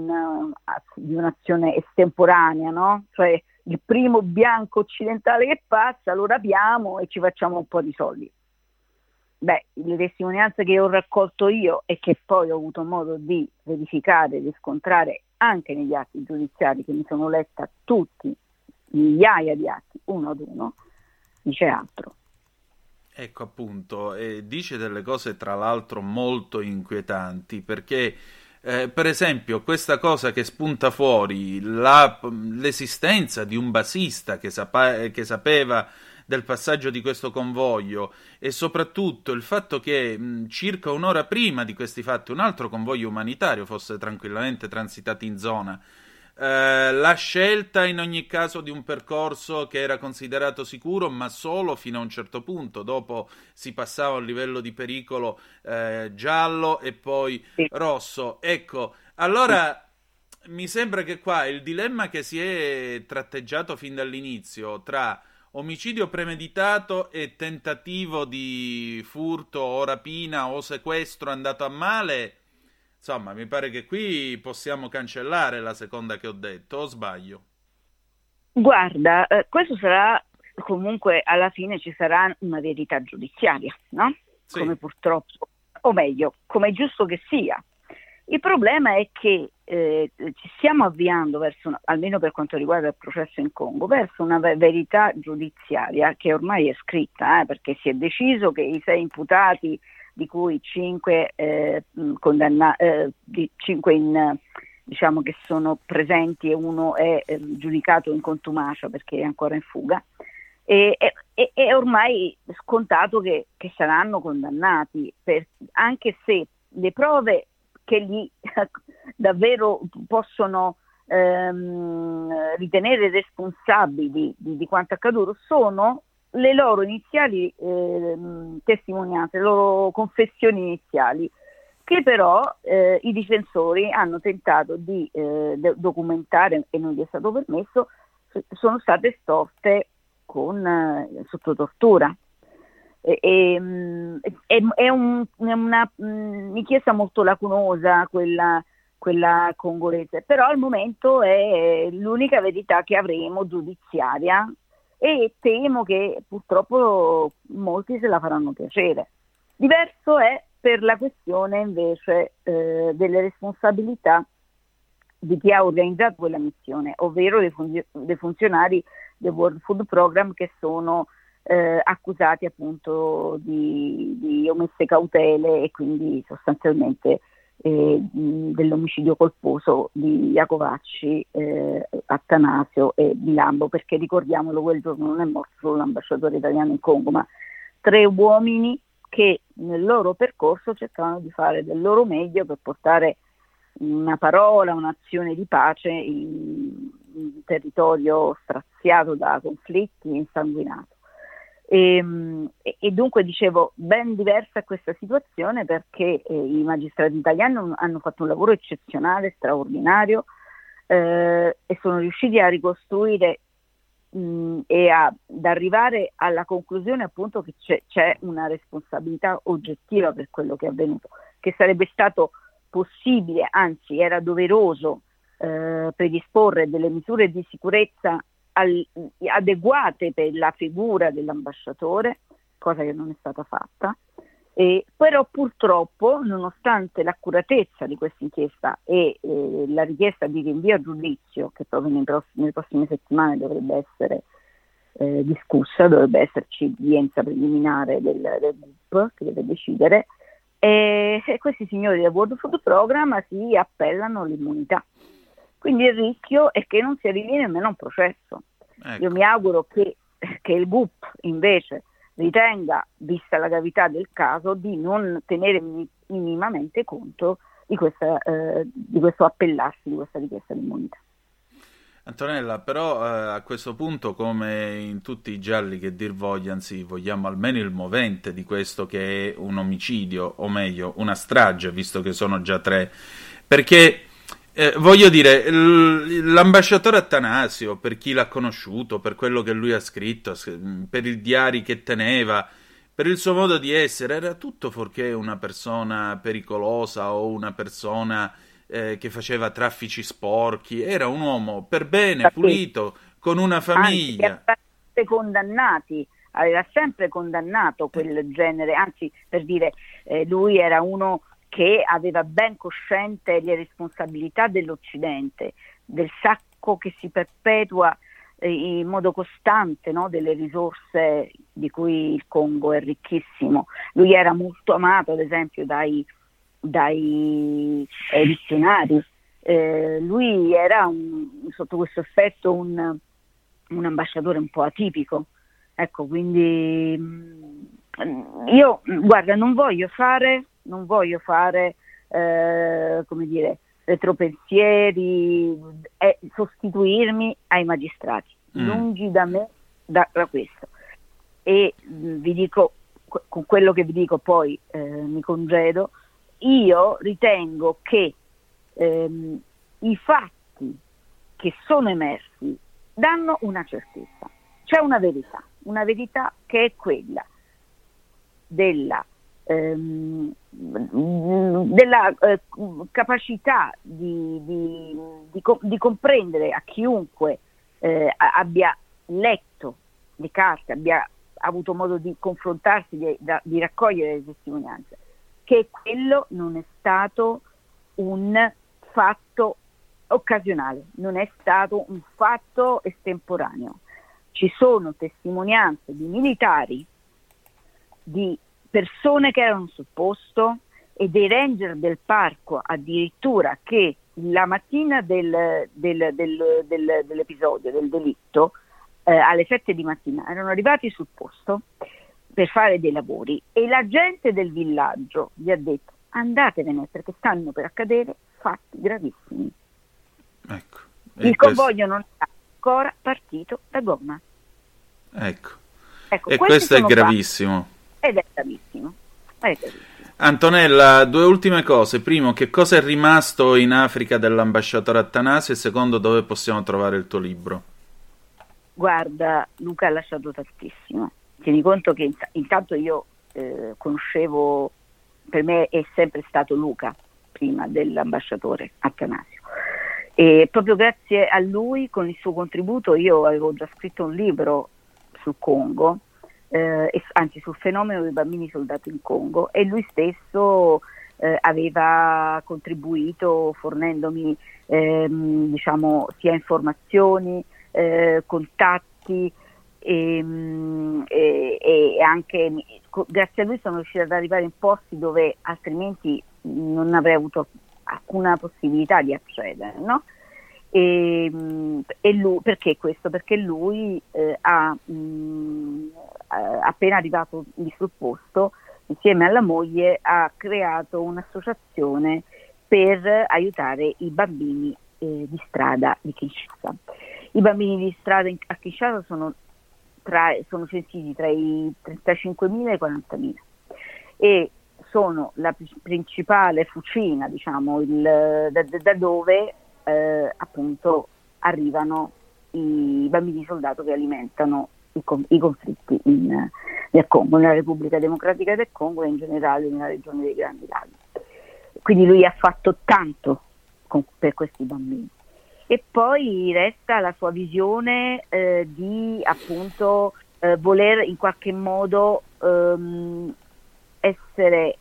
un'azione estemporanea, no? Cioè il primo bianco occidentale che passa lo rapiamo e ci facciamo un po' di soldi. Beh, le testimonianze che ho raccolto io e che poi ho avuto modo di verificare e riscontrare anche negli atti giudiziari, che mi sono letta tutti, migliaia di atti, uno ad uno, dice altro. Ecco appunto, dice delle cose tra l'altro molto inquietanti, perché per esempio questa cosa che spunta fuori, l'esistenza di un basista che sapeva del passaggio di questo convoglio, e soprattutto il fatto che circa un'ora prima di questi fatti un altro convoglio umanitario fosse tranquillamente transitato in zona. La scelta in ogni caso di un percorso che era considerato sicuro, ma solo fino a un certo punto, dopo si passava a un livello di pericolo giallo e poi rosso. Ecco, allora mi sembra che qua il dilemma che si è tratteggiato fin dall'inizio tra omicidio premeditato e tentativo di furto o rapina o sequestro andato a male, insomma, mi pare che qui possiamo cancellare la seconda che ho detto, o sbaglio? Guarda, questo sarà, comunque alla fine ci sarà una verità giudiziaria, no? Sì. Come purtroppo, o meglio, come è giusto che sia. Il problema è che ci stiamo avviando verso, almeno per quanto riguarda il processo in Congo, verso una verità giudiziaria che ormai è scritta, perché si è deciso che i 6 imputati, di cui 5 diciamo che sono presenti e uno è giudicato in contumacia perché è ancora in fuga, è ormai scontato che saranno condannati, anche se le prove che li davvero possono ritenere responsabili di quanto accaduto sono le loro iniziali testimonianze, le loro confessioni iniziali, che però i difensori hanno tentato di documentare, e non gli è stato permesso, sono state estorte sotto tortura. È una inchiesta molto lacunosa quella congolese, però al momento è l'unica verità che avremo giudiziaria, e temo che purtroppo molti se la faranno piacere. Diverso è per la questione invece delle responsabilità di chi ha organizzato quella missione, ovvero dei funzionari del World Food Program, che sono accusati appunto di omesse cautele e quindi sostanzialmente dell'omicidio colposo di Iacovacci, Attanasio e Milambo, perché ricordiamolo, quel giorno non è morto solo l'ambasciatore italiano in Congo, ma 3 uomini che nel loro percorso cercavano di fare del loro meglio per portare una parola, un'azione di pace in un territorio straziato da conflitti, insanguinato. E dunque dicevo, ben diversa questa situazione, perché i magistrati italiani hanno fatto un lavoro eccezionale, straordinario, e sono riusciti a ricostruire e ad arrivare alla conclusione appunto che c'è una responsabilità oggettiva per quello che è avvenuto, che sarebbe stato possibile, anzi era doveroso predisporre delle misure di sicurezza adeguate per la figura dell'ambasciatore, cosa che non è stata fatta. Però purtroppo, nonostante l'accuratezza di questa inchiesta e la richiesta di rinvio a giudizio, che proprio nelle prossime settimane dovrebbe essere discussa, dovrebbe esserci udienza preliminare del GUP che deve decidere, questi signori del World Food Program si appellano all'immunità. Quindi il rischio è che non si arrivi nemmeno a un processo. Ecco. Io mi auguro che il GUP invece ritenga, vista la gravità del caso, di non tenere minimamente conto di questo appellarsi, di questa richiesta di immunità. Antonella, però a questo punto, come in tutti i gialli che dir vogliano, anzi, vogliamo almeno il movente di questo che è un omicidio, o meglio, una strage, visto che sono già 3, perché voglio dire, l'ambasciatore Attanasio, per chi l'ha conosciuto, per quello che lui ha scritto, per i diari che teneva, per il suo modo di essere, era tutto fuorché una persona pericolosa o una persona che faceva traffici sporchi. Era un uomo per bene, pulito, con una famiglia. Aveva sempre condannato quel genere, anzi, per dire, lui era uno che aveva ben cosciente le responsabilità dell'Occidente, del sacco che si perpetua in modo costante, no, delle risorse di cui il Congo è ricchissimo. Lui era molto amato, ad esempio, dai missionari. Lui era sotto questo aspetto un ambasciatore un po' atipico. Ecco, quindi io, guarda, non voglio fare come dire, retropensieri e sostituirmi ai magistrati, lungi da me da questo. E vi dico, con quello che vi dico poi mi congedo, io ritengo che i fatti che sono emersi danno una certezza. C'è una verità che è quella della capacità di comprendere a chiunque abbia letto le carte, abbia avuto modo di confrontarsi, di raccogliere le testimonianze, che quello non è stato un fatto occasionale, non è stato un fatto estemporaneo. Ci sono testimonianze di militari, di persone che erano sul posto e dei ranger del parco addirittura, che la mattina dell'episodio, del delitto, alle 7 di mattina erano arrivati sul posto per fare dei lavori, e la gente del villaggio gli ha detto: andatevene perché stanno per accadere fatti gravissimi. Ecco. Il convoglio non è ancora partito da Goma. Ecco. Ecco, E questo è gravissimo. Ed è gravissimo. Antonella, 2 ultime cose. Primo, che cosa è rimasto in Africa dell'ambasciatore Attanasio? E secondo, dove possiamo trovare il tuo libro? Guarda, Luca ha lasciato tantissimo. Tieni conto che intanto io conoscevo, per me è sempre stato Luca prima dell'ambasciatore Attanasio, e proprio grazie a lui, con il suo contributo, io avevo già scritto un libro sul Congo, anzi sul fenomeno dei bambini soldati in Congo, e lui stesso aveva contribuito fornendomi diciamo sia informazioni, contatti, e anche grazie a lui sono riuscita ad arrivare in posti dove altrimenti non avrei avuto alcuna possibilità di accedere, no? E lui, perché questo? Perché lui appena arrivato lì sul posto insieme alla moglie ha creato un'associazione per aiutare i bambini di strada di Kinshasa. I bambini di strada a Kinshasa sono sentiti tra i 35.000 e i 40.000 e sono la principale fucina, diciamo, da dove appunto arrivano i bambini soldato che alimentano i conflitti nel Congo, nella Repubblica Democratica del Congo e in generale nella regione dei Grandi Laghi. Quindi lui ha fatto tanto per questi bambini. E poi resta la sua visione di appunto voler in qualche modo essere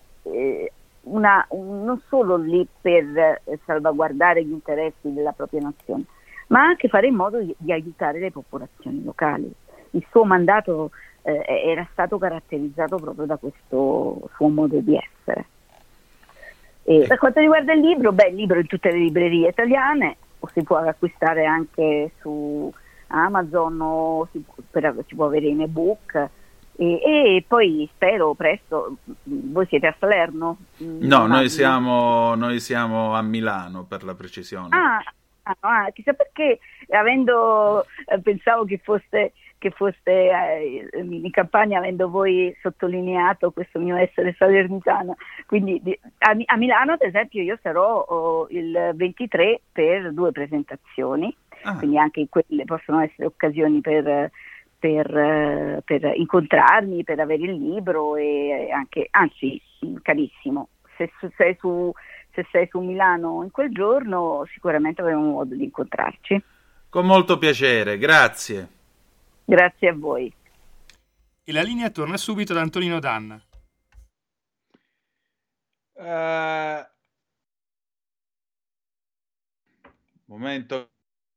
non solo lì per salvaguardare gli interessi della propria nazione, ma anche fare in modo di aiutare le popolazioni locali. Il suo mandato era stato caratterizzato proprio da questo suo modo di essere. E per quanto riguarda il libro, il libro è in tutte le librerie italiane, o si può acquistare anche su Amazon o si può avere in ebook e poi spero presto. Voi siete a Salerno? No, noi siamo a Milano, per la precisione. Chissà perché, pensavo che foste in campagna, avendo voi sottolineato questo mio essere salernitana. Quindi a Milano, ad esempio, io sarò il 23 per 2 presentazioni, quindi anche quelle possono essere occasioni per incontrarmi, per avere il libro e anche, anzi, carissimo, se sei su Milano in quel giorno sicuramente avremo modo di incontrarci. Con molto piacere, grazie. Grazie a voi. E la linea torna subito ad Antonino Danna. Momento.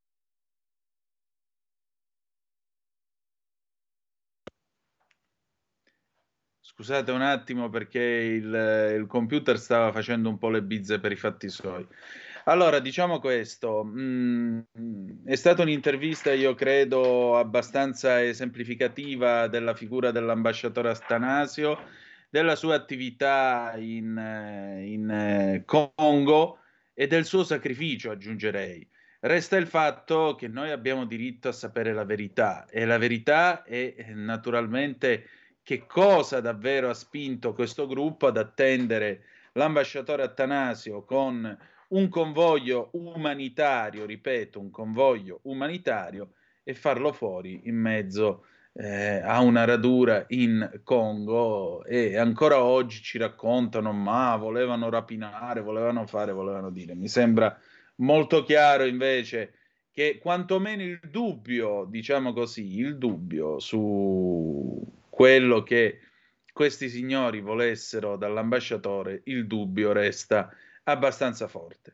Scusate un attimo perché il computer stava facendo un po' le bizze per i fatti suoi. Allora, diciamo questo, è stata un'intervista, io credo, abbastanza esemplificativa della figura dell'ambasciatore Attanasio, della sua attività in Congo e del suo sacrificio, aggiungerei. Resta il fatto che noi abbiamo diritto a sapere la verità e la verità è naturalmente che cosa davvero ha spinto questo gruppo ad attendere l'ambasciatore Attanasio con un convoglio umanitario, ripeto, un convoglio umanitario, e farlo fuori in mezzo a una radura in Congo. E ancora oggi ci raccontano, ma volevano rapinare, volevano fare, volevano dire. Mi sembra molto chiaro invece che quantomeno il dubbio, diciamo così, il dubbio su quello che questi signori volessero dall'ambasciatore, il dubbio resta abbastanza forte.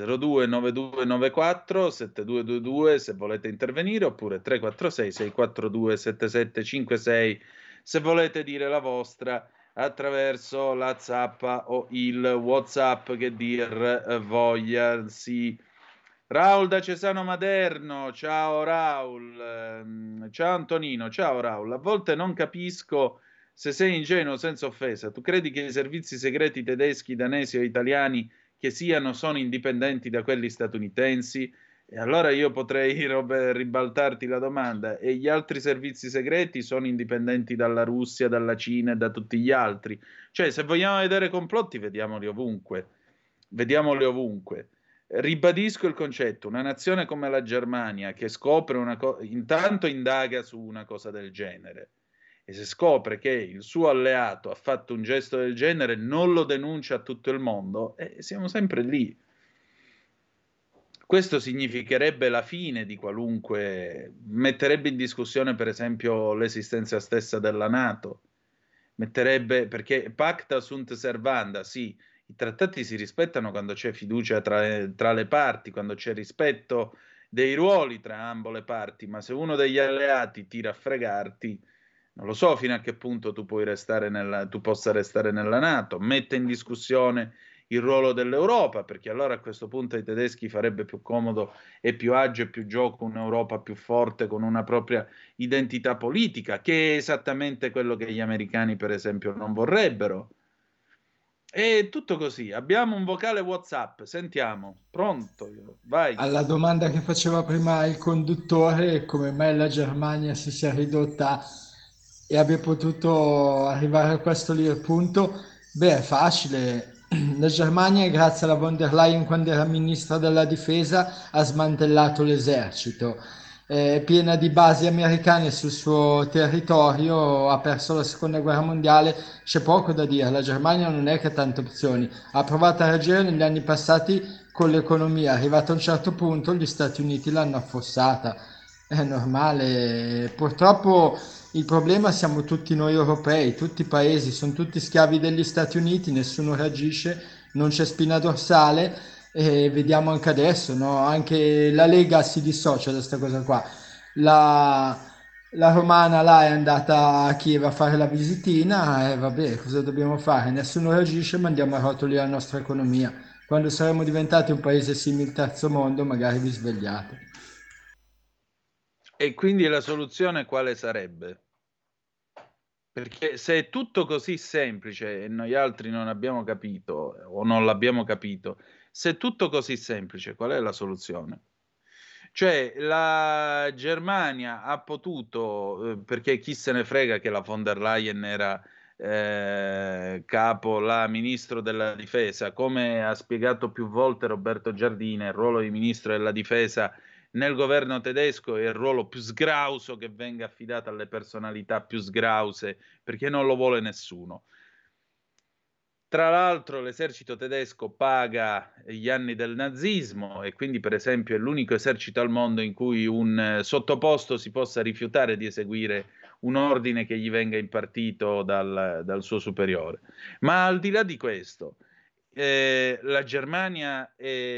029294 7222 se volete intervenire, oppure 346 642 7756 se volete dire la vostra attraverso la zappa o il WhatsApp, che dir voglia. Sì. Raul da Cesano Maderno, ciao Raul. Ciao Antonino, ciao Raul. A volte non capisco se sei ingenuo, senza offesa. Tu credi che i servizi segreti tedeschi, danesi o italiani che sono indipendenti da quelli statunitensi? E allora io potrei ribaltarti la domanda: e gli altri servizi segreti sono indipendenti dalla Russia, dalla Cina e da tutti gli altri? Cioè, se vogliamo vedere complotti, vediamoli ovunque. Ribadisco il concetto: una nazione come la Germania, che scopre intanto indaga su una cosa del genere, e se scopre che il suo alleato ha fatto un gesto del genere, non lo denuncia a tutto il mondo, e siamo sempre lì. Questo significherebbe la fine di qualunque, metterebbe in discussione per esempio l'esistenza stessa della NATO, perché pacta sunt servanda, sì, i trattati si rispettano quando c'è fiducia tra le parti, quando c'è rispetto dei ruoli tra ambo le parti, ma se uno degli alleati tira a fregarti, non lo so fino a che punto tu possa restare nella NATO, mette in discussione il ruolo dell'Europa, perché allora a questo punto ai tedeschi farebbe più comodo e più agio e più gioco un'Europa più forte con una propria identità politica, che è esattamente quello che gli americani, per esempio, non vorrebbero. E tutto così. Abbiamo un vocale WhatsApp, sentiamo. Pronto? Vai. Alla domanda che faceva prima il conduttore, come mai la Germania si sia ridotta e abbia potuto arrivare a questo lì il punto, beh, è facile. La Germania, grazie alla von der Leyen, quando era ministra della difesa, ha smantellato l'esercito. È piena di basi americane sul suo territorio, ha perso la seconda guerra mondiale, c'è poco da dire. La Germania non è che ha tante opzioni. Ha provato a reagire negli anni passati con l'economia, arrivato a un certo punto gli Stati Uniti l'hanno affossata, è normale. Purtroppo il problema siamo tutti noi europei, tutti i paesi, sono tutti schiavi degli Stati Uniti, nessuno reagisce, non c'è spina dorsale e vediamo anche adesso, no? Anche la Lega si dissocia da questa cosa qua. La romana là è andata a Kiev a fare la visitina e vabbè, cosa dobbiamo fare? Nessuno reagisce, mandiamo a rotoli la nostra economia. Quando saremo diventati un paese simile al terzo mondo, magari vi svegliate. E quindi la soluzione quale sarebbe? Perché se è tutto così semplice e noi altri non abbiamo capito o non l'abbiamo capito, se è tutto così semplice, qual è la soluzione? Cioè la Germania ha potuto, perché chi se ne frega che la von der Leyen era capo, la ministro della difesa, come ha spiegato più volte Roberto Giardina, il ruolo di ministro della difesa nel governo tedesco è il ruolo più sgrauso che venga affidato alle personalità più sgrause, perché non lo vuole nessuno. Tra l'altro l'esercito tedesco paga gli anni del nazismo e quindi per esempio è l'unico esercito al mondo in cui un sottoposto si possa rifiutare di eseguire un ordine che gli venga impartito dal suo superiore. Ma al di là di questo, la Germania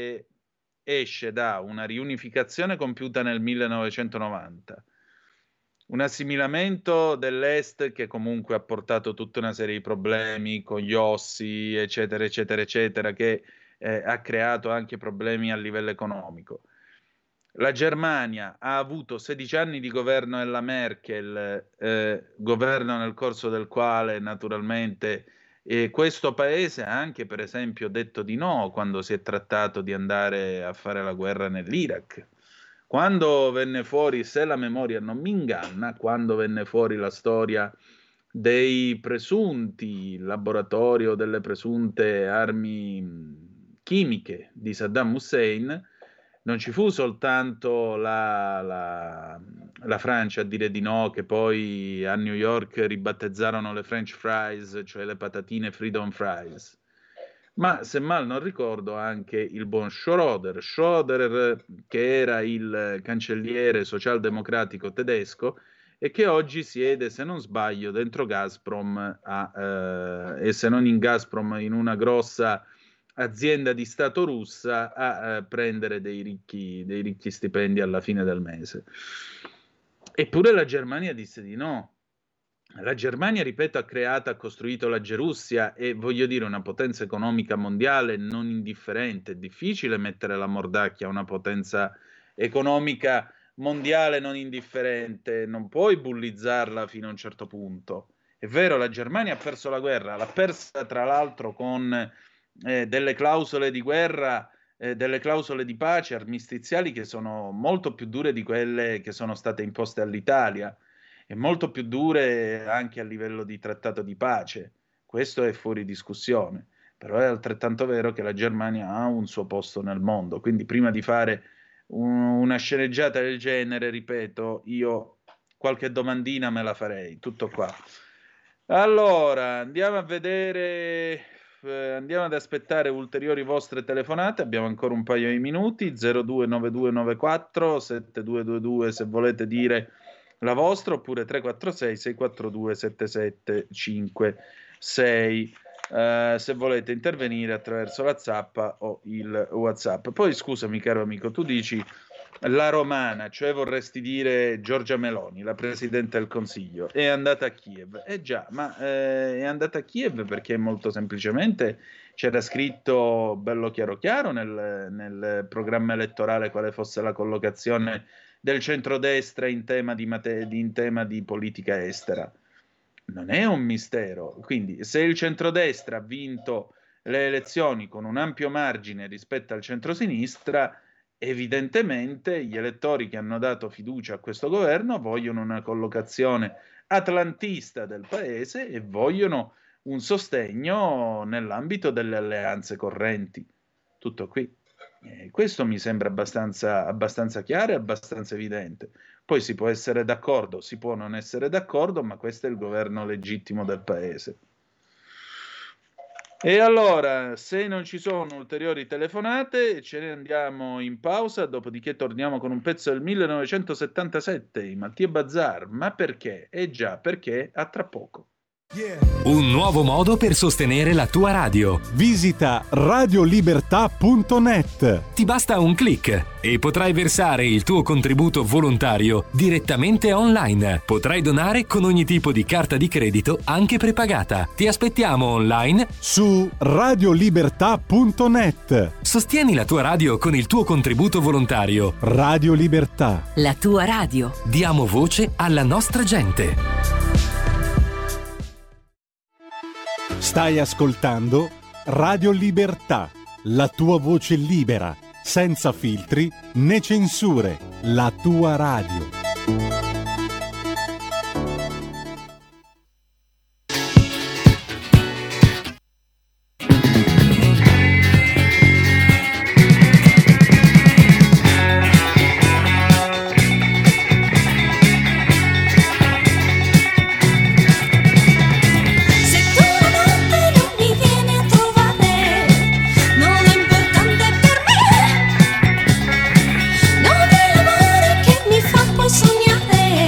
esce da una riunificazione compiuta nel 1990, un assimilamento dell'Est che comunque ha portato tutta una serie di problemi con gli ossi, eccetera, eccetera, eccetera, che ha creato anche problemi a livello economico. La Germania ha avuto 16 anni di governo della Merkel, governo nel corso del quale naturalmente questo paese ha anche per esempio detto di no quando si è trattato di andare a fare la guerra nell'Iraq. Quando venne fuori, se la memoria non mi inganna, quando venne fuori la storia dei presunti laboratorio delle presunte armi chimiche di Saddam Hussein, non ci fu soltanto la Francia a dire di no, che poi a New York ribattezzarono le French fries, cioè le patatine Freedom Fries, ma se mal non ricordo anche il buon Schröder, che era il cancelliere socialdemocratico tedesco e che oggi siede, se non sbaglio, dentro Gazprom e se non in Gazprom in una grossa azienda di Stato russa a prendere dei ricchi stipendi alla fine del mese. Eppure la Germania disse di no. La Germania, ripeto, ha costruito la Gerussia e voglio dire una potenza economica mondiale non indifferente. È difficile mettere la mordacchia a una potenza economica mondiale non indifferente, non puoi bullizzarla fino a un certo punto. È vero, la Germania ha perso la guerra, l'ha persa tra l'altro con delle clausole di guerra, delle clausole di pace armistiziali che sono molto più dure di quelle che sono state imposte all'Italia e molto più dure anche a livello di trattato di pace. Questo è fuori discussione, però è altrettanto vero che la Germania ha un suo posto nel mondo, quindi prima di fare una sceneggiata del genere, ripeto, io qualche domandina me la farei, tutto qua. Allora, andiamo a vedere, andiamo ad aspettare ulteriori vostre telefonate, abbiamo ancora un paio di minuti, 029294 7222 se volete dire la vostra, oppure 346 642 7756 se volete intervenire attraverso la zappa o il WhatsApp. Poi scusami caro amico, tu dici la romana, cioè vorresti dire Giorgia Meloni, la Presidente del Consiglio, è andata a Kiev. Già, ma è andata a Kiev perché molto semplicemente c'era scritto bello chiaro chiaro nel programma elettorale quale fosse la collocazione del centrodestra in tema di politica estera. Non è un mistero. Quindi se il centrodestra ha vinto le elezioni con un ampio margine rispetto al centrosinistra, evidentemente gli elettori che hanno dato fiducia a questo governo vogliono una collocazione atlantista del paese e vogliono un sostegno nell'ambito delle alleanze correnti. Tutto qui. Questo mi sembra abbastanza chiaro e abbastanza evidente. Poi si può essere d'accordo, si può non essere d'accordo, ma questo è il governo legittimo del paese. E allora, se non ci sono ulteriori telefonate, ce ne andiamo in pausa, dopodiché torniamo con un pezzo del 1977, i Mattia Bazar. Ma perché? Già, perché a tra poco. Un nuovo modo per sostenere la tua radio. Visita radiolibertà.net. Ti basta un click e potrai versare il tuo contributo volontario direttamente online. Potrai donare con ogni tipo di carta di credito, anche prepagata. Ti aspettiamo online su radiolibertà.net. Sostieni la tua radio con il tuo contributo volontario. Radio Libertà. La tua radio. Diamo voce alla nostra gente. Stai ascoltando Radio Libertà, la tua voce libera, senza filtri né censure, la tua radio. Non è l'amore che mi fa poi sognare.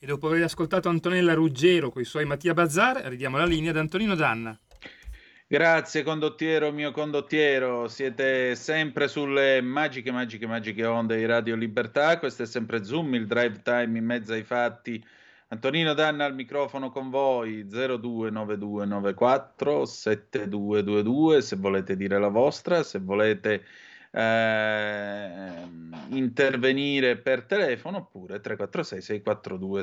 dopo aver ascoltato Antonella Ruggero con i suoi Mattia Bazzar, ridiamo la linea ad Antonino Danna. Grazie condottiero, mio condottiero, siete sempre sulle magiche onde di Radio Libertà, questo è sempre Zoom, il drive time in mezzo ai fatti. Antonino Danna al microfono con voi, 029294 7222, se volete dire la vostra, se volete intervenire per telefono, oppure 346 642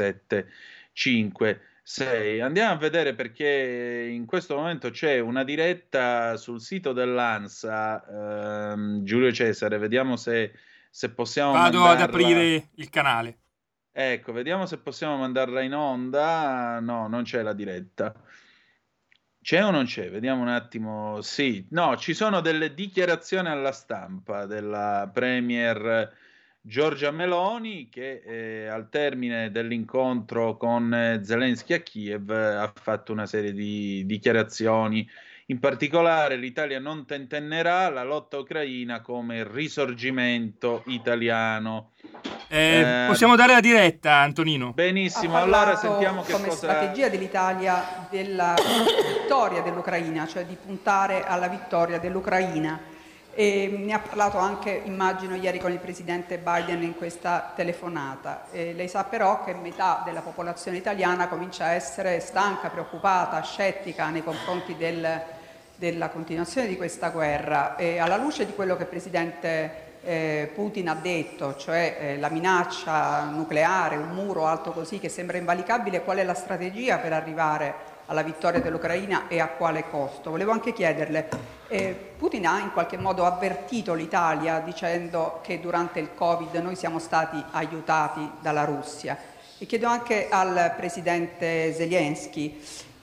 7756. Andiamo a vedere, perché in questo momento c'è una diretta sul sito dell'ANSA. Giulio Cesare, vediamo se possiamo Vado ad aprire il canale. Ecco, vediamo se possiamo mandarla in onda. No, non c'è la diretta. C'è o non c'è? Vediamo un attimo. Sì, no, ci sono delle dichiarazioni alla stampa della Premier Giorgia Meloni, che al termine dell'incontro con Zelensky a Kiev ha fatto una serie di dichiarazioni. In particolare l'Italia non tentennerà la lotta ucraina come risorgimento italiano. Possiamo dare la diretta, Antonino? Benissimo, Ha allora parlato sentiamo che come cosa... strategia dell'Italia della vittoria dell'Ucraina, cioè di puntare alla vittoria dell'Ucraina. E ne ha parlato anche, immagino, ieri con il presidente Biden in questa telefonata. Lei sa però che metà della popolazione italiana comincia a essere stanca, preoccupata, scettica nei confronti della continuazione di questa guerra. E alla luce di quello che il presidente Putin ha detto, cioè la minaccia nucleare, un muro alto così che sembra invalicabile, qual è la strategia per arrivare alla vittoria dell'Ucraina e a quale costo? Volevo anche chiederle, Putin ha in qualche modo avvertito l'Italia dicendo che durante il Covid noi siamo stati aiutati dalla Russia, e chiedo anche al presidente Zelensky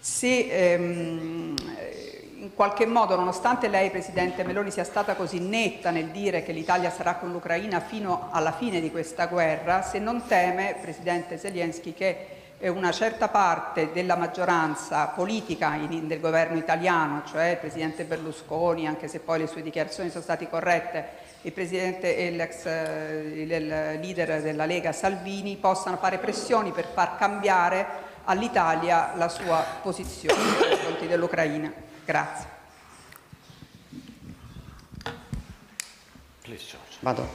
se in qualche modo, nonostante lei, Presidente Meloni, sia stata così netta nel dire che l'Italia sarà con l'Ucraina fino alla fine di questa guerra, se non teme, Presidente Zelensky, che una certa parte della maggioranza politica del governo italiano, cioè il Presidente Berlusconi, anche se poi le sue dichiarazioni sono state corrette, il Presidente e il leader della Lega Salvini, possano fare pressioni per far cambiare all'Italia la sua posizione nei confronti dell'Ucraina. Grazie. Vado.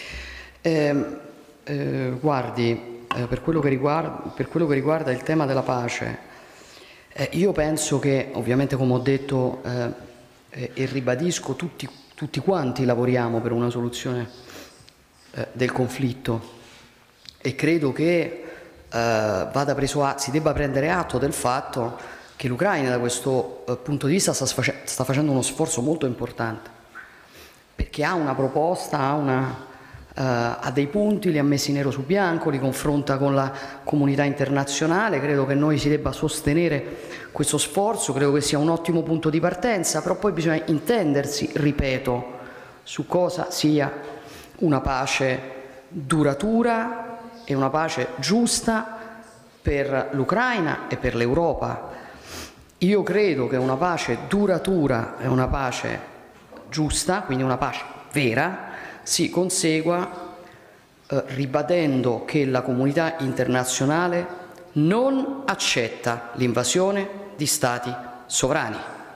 Guardi, per quello che riguarda il tema della pace, io penso che, ovviamente, come ho detto e ribadisco, tutti quanti lavoriamo per una soluzione del conflitto, e credo che si debba prendere atto del fatto che l'Ucraina, da questo punto di vista, sta facendo uno sforzo molto importante, perché ha una proposta, ha dei punti, li ha messi nero su bianco, li confronta con la comunità internazionale. Credo che noi si debba sostenere questo sforzo, credo che sia un ottimo punto di partenza, però poi bisogna intendersi, ripeto, su cosa sia una pace duratura e una pace giusta per l'Ucraina e per l'Europa. Io credo che una pace duratura e una pace giusta, quindi una pace vera, si consegua ribadendo che la comunità internazionale non accetta l'invasione di stati sovrani,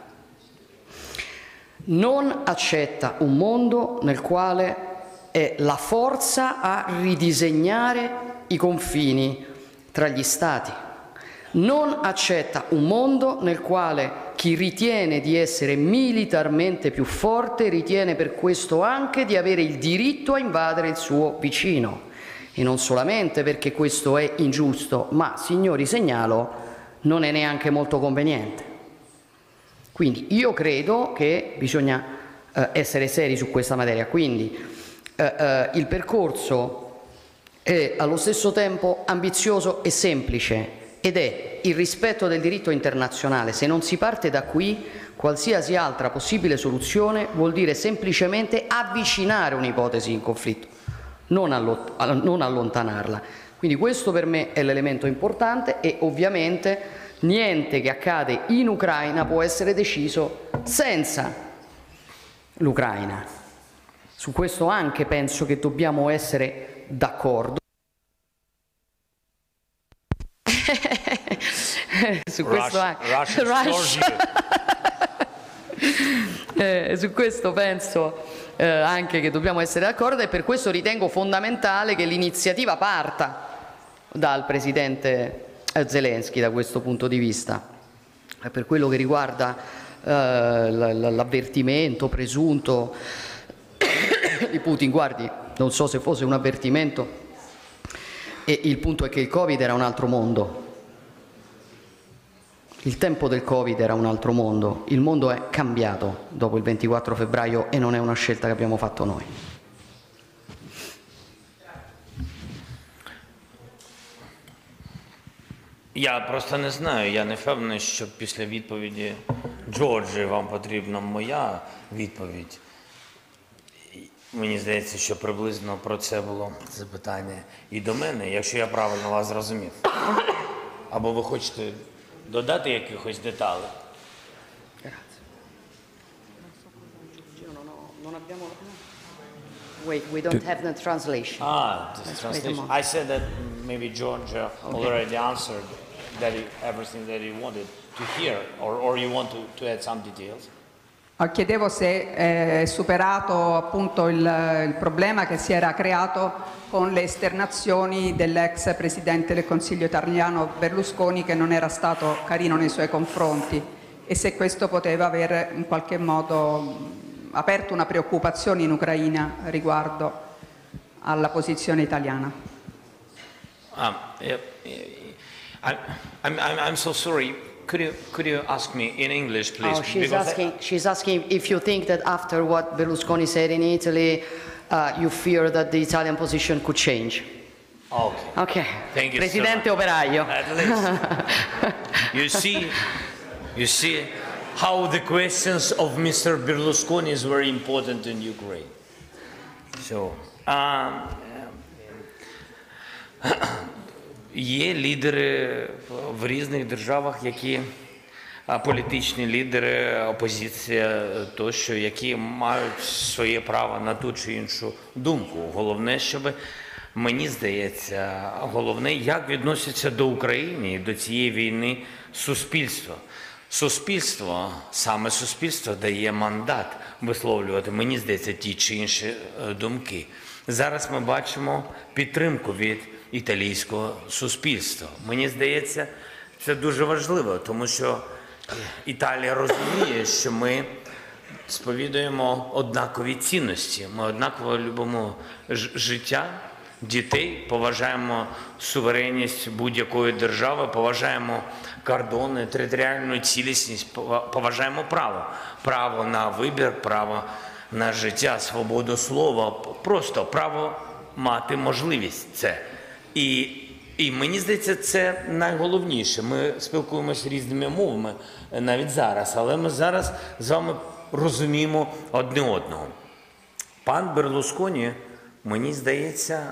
non accetta un mondo nel quale è la forza a ridisegnare i confini tra gli stati, non accetta un mondo nel quale chi ritiene di essere militarmente più forte ritiene per questo anche di avere il diritto a invadere il suo vicino, e non solamente perché questo è ingiusto, ma, signori, segnalo, non è neanche molto conveniente. Quindi io credo che bisogna essere seri su questa materia. Quindi il percorso è allo stesso tempo ambizioso e semplice, ed è il rispetto del diritto internazionale. Se non si parte da qui, qualsiasi altra possibile soluzione vuol dire semplicemente avvicinare un'ipotesi in conflitto, non allontanarla. Quindi questo per me è l'elemento importante, e ovviamente niente che accade in Ucraina può essere deciso senza l'Ucraina. Su questo anche penso che dobbiamo essere d'accordo. Su questo su questo penso anche che dobbiamo essere d'accordo, e per questo ritengo fondamentale che l'iniziativa parta dal presidente Zelensky da questo punto di vista. Per quello che riguarda l'avvertimento presunto di Putin, guardi, non so se fosse un avvertimento, e il punto è che il Covid era un altro mondo. Il tempo del Covid era un altro mondo, il mondo è cambiato dopo il 24 febbraio e non è una scelta che abbiamo fatto noi. Я просто не знаю, я не впевнений, що після відповіді Джорджі вам потрібна моя відповідь. Мені здається, що приблизно про це було запитання і до мене, якщо я правильно вас зрозумів. Або ви хочете додати якихось деталей? Wait, we don't have the translation. This translation. I said that maybe George already answered everything that he wanted to hear, or you want to add some details? Chiedevo se è superato appunto il problema che si era creato con le esternazioni dell'ex presidente del Consiglio italiano Berlusconi, che non era stato carino nei suoi confronti, e se questo poteva aver in qualche modo aperto una preoccupazione in riguardo alla posizione italiana. I'm so sorry. Could you ask me in English, please? She's asking if you think that after what Berlusconi said in Italy, you fear that the Italian position could change. Okay. Thank you, Presidente so operaio. At least. You see how the questions of Mr. Berlusconi is very important in Ukraine. So, є лідери в різних державах, які політичні лідери, опозиція тощо, які мають своє право на ту чи іншу думку. Головне, щоб, мені здається, головне, як відноситься до України і до цієї війни суспільство. Суспільство, саме суспільство дає мандат висловлювати, мені здається, ті чи інші думки. Зараз ми бачимо підтримку від італійського суспільства. Мені здається, це дуже важливо, тому що Італія розуміє, що ми сповідуємо однакові цінності. Ми однаково любимо життя, дітей, поважаємо суверенність будь-якої держави, поважаємо кордони, територіальну цілісність, поважаємо право. Право на вибір, право на життя, свободу слова, просто право мати можливість це. І мені здається, це найголовніше. Ми спілкуємося різними мовами навіть зараз, але ми зараз з вами розуміємо одне одного. Пан Берлусконі, мені здається,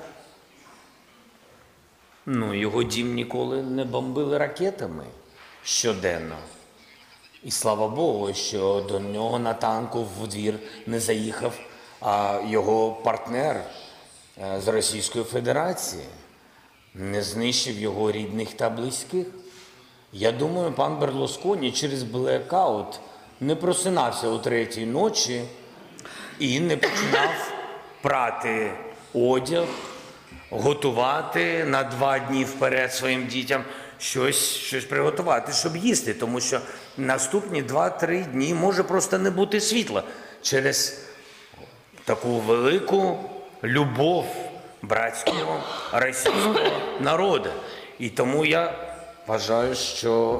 його дім ніколи не бомбили ракетами щоденно. І слава Богу, що до нього на танку в двір не заїхав його партнер з Російської Федерації. Не знищив його рідних та близьких. Я думаю, пан Берлусконі через блекаут не просинався о 3-й ночі і не починав прати одяг, готувати на 2 дні вперед своїм дітям щось приготувати, щоб їсти. Тому що наступні 2-3 дні може просто не бути світла через таку велику любов братського російського народу. І тому я вважаю, що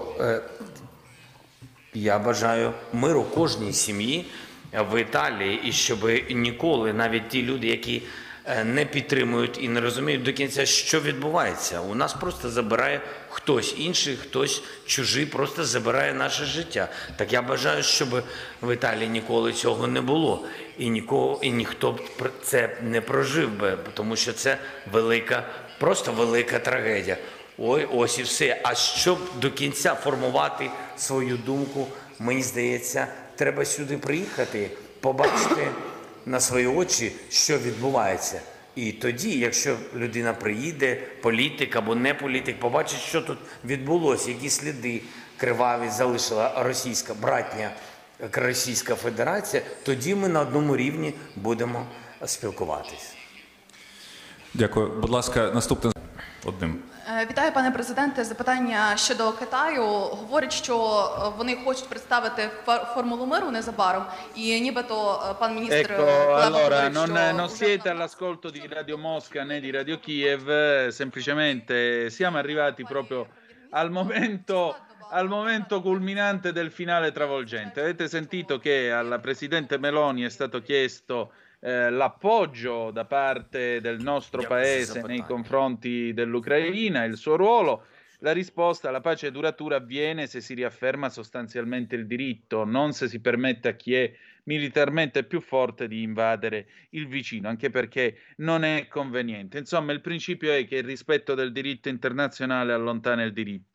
я бажаю миру кожній сім'ї в Італії, і щоб ніколи навіть ті люди, які не підтримують і не розуміють до кінця, що відбувається. У нас просто забирає хтось інший, хтось чужий, просто забирає наше життя. Так я бажаю, щоб в Італії ніколи цього не було. І ніхто б це не прожив би, тому що це просто велика трагедія. Ось і все. А щоб до кінця формувати свою думку, мені здається, треба сюди приїхати, побачити на свої очі, що відбувається. І тоді, якщо людина приїде, політик або не політик, побачить, що тут відбулося, які сліди криваві залишила братня Російська Федерація, тоді ми на одному рівні будемо спілкуватись. Дякую. Будь ласка, наступне одним. Вітаю, пане президенте. Запитання щодо Китаю. Говорять, що вони хочуть представити формулу миру незабаром, і нібито пан міністр allora non siete all'ascolto di Radio Mosca né di Radio Kiev, semplicemente siamo arrivati proprio al momento culminante del finale travolgente. Avete sentito che alla presidente Meloni è stato chiesto l'appoggio da parte del nostro paese nei confronti dell'Ucraina, il suo ruolo. La risposta: la pace duratura avviene se si riafferma sostanzialmente il diritto, non se si permette a chi è militarmente più forte di invadere il vicino, anche perché non è conveniente. Insomma, il principio è che il rispetto del diritto internazionale allontana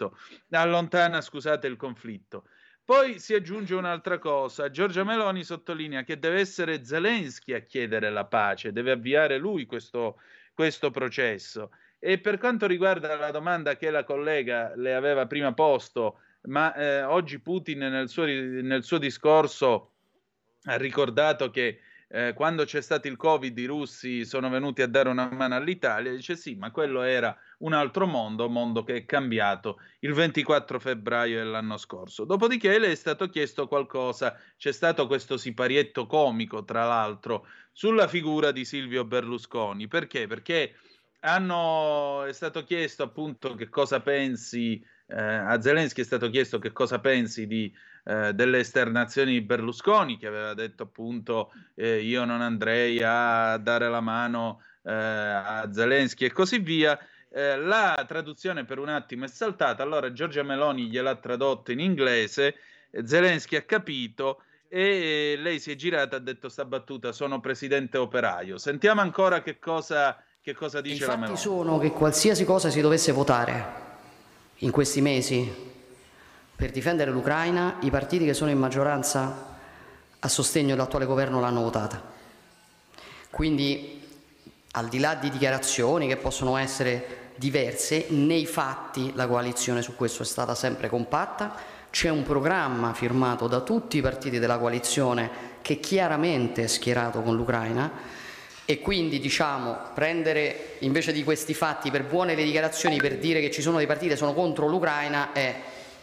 il conflitto. Poi si aggiunge un'altra cosa. Giorgia Meloni sottolinea che deve essere Zelensky a chiedere la pace, deve avviare lui questo processo. E per quanto riguarda la domanda che la collega le aveva prima posto, ma oggi Putin nel suo discorso ha ricordato che quando c'è stato il Covid i russi sono venuti a dare una mano all'Italia, dice sì, ma quello era un altro mondo che è cambiato il 24 febbraio dell'anno scorso. Dopodiché le è stato chiesto qualcosa, c'è stato questo siparietto comico, tra l'altro, sulla figura di Silvio Berlusconi. Perché? Perché è stato chiesto appunto che cosa pensi, a Zelensky è stato chiesto che cosa pensi delle esternazioni di Berlusconi, che aveva detto appunto io non andrei a dare la mano a Zelensky e così via. La traduzione per un attimo è saltata, allora Giorgia Meloni gliel'ha tradotto in inglese, Zelensky ha capito e lei si è girata e ha detto sta battuta: sono presidente operaio. Sentiamo ancora che cosa dice la Meloni. I fatti sono che qualsiasi cosa si dovesse votare in questi mesi per difendere l'Ucraina, i partiti che sono in maggioranza a sostegno dell'attuale governo l'hanno votata. Quindi, al di là di dichiarazioni che possono essere diverse, nei fatti la coalizione su questo è stata sempre compatta. C'è un programma firmato da tutti i partiti della coalizione che chiaramente è schierato con l'Ucraina, e quindi prendere invece di questi fatti per buone le dichiarazioni per dire che ci sono dei partiti che sono contro l'Ucraina è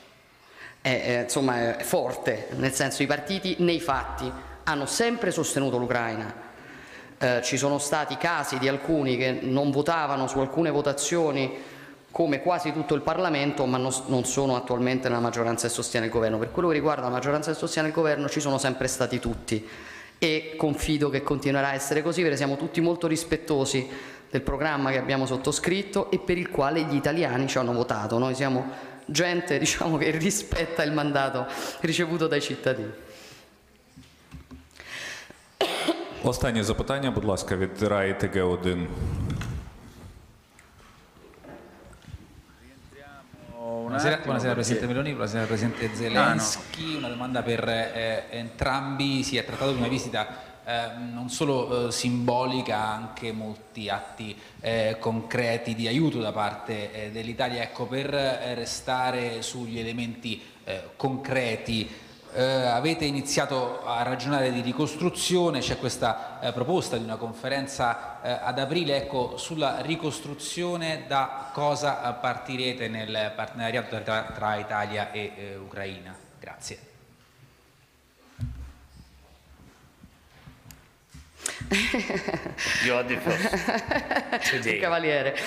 forte, nel senso i partiti nei fatti hanno sempre sostenuto l'Ucraina. Ci sono stati casi di alcuni che non votavano su alcune votazioni, come quasi tutto il Parlamento, ma non sono attualmente nella maggioranza che sostiene il governo. Per quello che riguarda la maggioranza che sostiene il governo ci sono sempre stati tutti, e confido che continuerà a essere così, perché siamo tutti molto rispettosi del programma che abbiamo sottoscritto e per il quale gli italiani ci hanno votato. Noi siamo gente che rispetta il mandato ricevuto dai cittadini. Останнє запитання, будь ласка, від Раї ТГ1. Buonasera Presidente Meloni, buonasera Presidente Zelensky. Una domanda per entrambi. Si è trattato di una visita non solo simbolica, anche molti atti concreti di aiuto da parte dell'Italia. Ecco, per restare sugli elementi concreti, avete iniziato a ragionare di ricostruzione, c'è questa proposta di una conferenza ad aprile. Ecco, sulla ricostruzione da cosa partirete nel partenariato tra Italia e Ucraina? Grazie. Un cavaliere.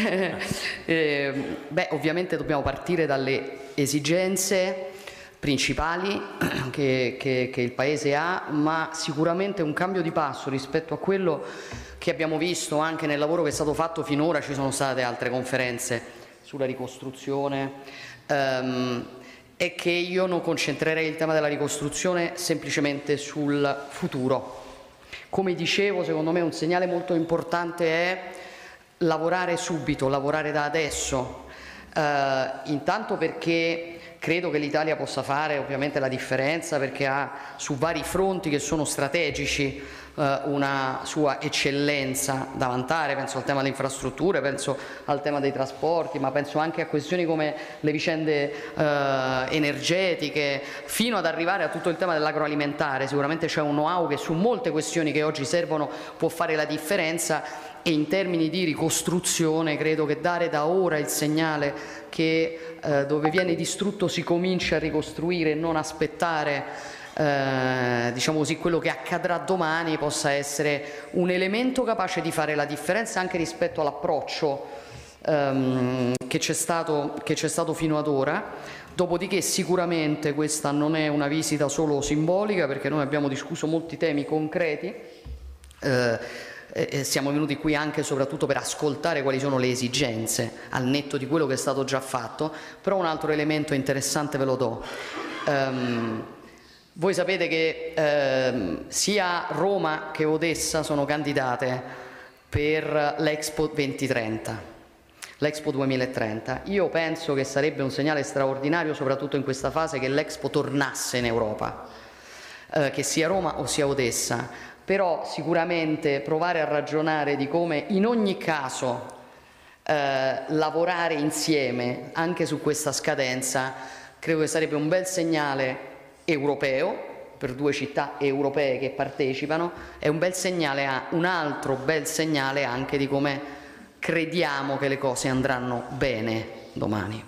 Ovviamente dobbiamo partire dalle esigenze principali che il Paese ha, ma sicuramente un cambio di passo rispetto a quello che abbiamo visto anche nel lavoro che è stato fatto finora. Ci sono state altre conferenze sulla ricostruzione, e che io non concentrerei il tema della ricostruzione semplicemente sul futuro. Come dicevo, secondo me un segnale molto importante è lavorare subito, lavorare da adesso, intanto perché credo che l'Italia possa fare ovviamente la differenza, perché ha su vari fronti che sono strategici una sua eccellenza da vantare, penso al tema delle infrastrutture, penso al tema dei trasporti, ma penso anche a questioni come le vicende energetiche, fino ad arrivare a tutto il tema dell'agroalimentare. Sicuramente c'è un know-how che su molte questioni che oggi servono può fare la differenza, e in termini di ricostruzione credo che dare da ora il segnale che dove viene distrutto si comincia a ricostruire e non aspettare diciamo così, quello che accadrà domani possa essere un elemento capace di fare la differenza anche rispetto all'approccio che c'è stato fino ad ora. Dopodiché sicuramente questa non è una visita solo simbolica, perché noi abbiamo discusso molti temi concreti, siamo venuti qui anche e soprattutto per ascoltare quali sono le esigenze al netto di quello che è stato già fatto. Però un altro elemento interessante ve lo do. Voi sapete che sia Roma che Odessa sono candidate per l'Expo 2030, l'Expo 2030. Io penso che sarebbe un segnale straordinario, soprattutto in questa fase, che l'Expo tornasse in Europa, che sia Roma o sia Odessa. Però sicuramente provare a ragionare di come in ogni caso lavorare insieme anche su questa scadenza credo che sarebbe un bel segnale europeo per due città europee che partecipano, è un bel segnale, un altro bel segnale anche di come crediamo che le cose andranno bene domani.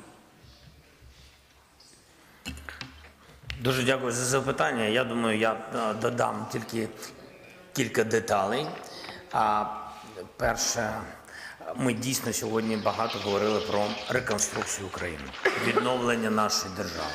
Дуже дякую за запитання. Я думаю, я додам тільки кілька деталей. Перше, ми дійсно сьогодні багато говорили про реконструкцію України, відновлення нашої держави.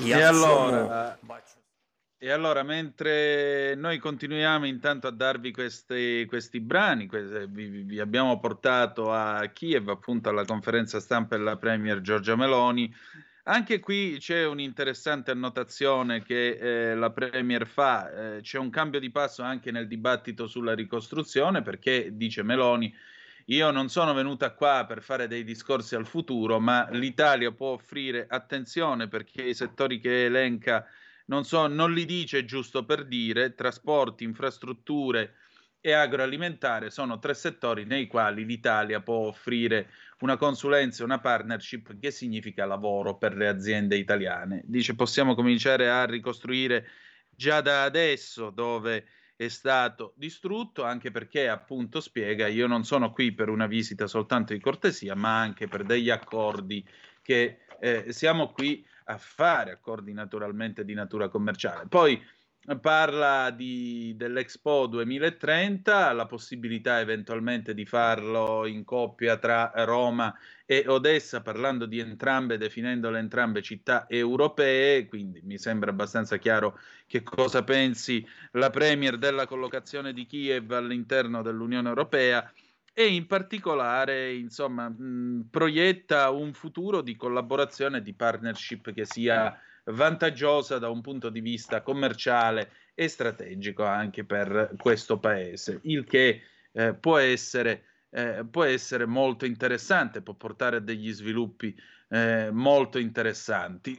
E allora, mentre noi continuiamo intanto a darvi questi brani, vi abbiamo portato a Kiev, appunto alla conferenza stampa della Premier Giorgia Meloni. Anche qui c'è un'interessante annotazione che la Premier fa, c'è un cambio di passo anche nel dibattito sulla ricostruzione, perché, dice Meloni, io non sono venuta qua per fare dei discorsi al futuro, ma l'Italia può offrire attenzione perché i settori che elenca non li dice giusto per dire, trasporti, infrastrutture e agroalimentare sono tre settori nei quali l'Italia può offrire una consulenza, una partnership che significa lavoro per le aziende italiane. Dice possiamo cominciare a ricostruire già da adesso dove è stato distrutto, anche perché appunto spiega io non sono qui per una visita soltanto di cortesia ma anche per degli accordi che siamo qui a fare, accordi naturalmente di natura commerciale. Poi parla dell'Expo 2030, la possibilità eventualmente di farlo in coppia tra Roma e Odessa, parlando di entrambe, definendole entrambe città europee, quindi mi sembra abbastanza chiaro che cosa pensi la Premier della collocazione di Kiev all'interno dell'Unione Europea e in particolare, insomma, proietta un futuro di collaborazione e di partnership che sia vantaggiosa da un punto di vista commerciale e strategico anche per questo paese, il che può essere molto interessante, può portare a degli sviluppi molto interessanti.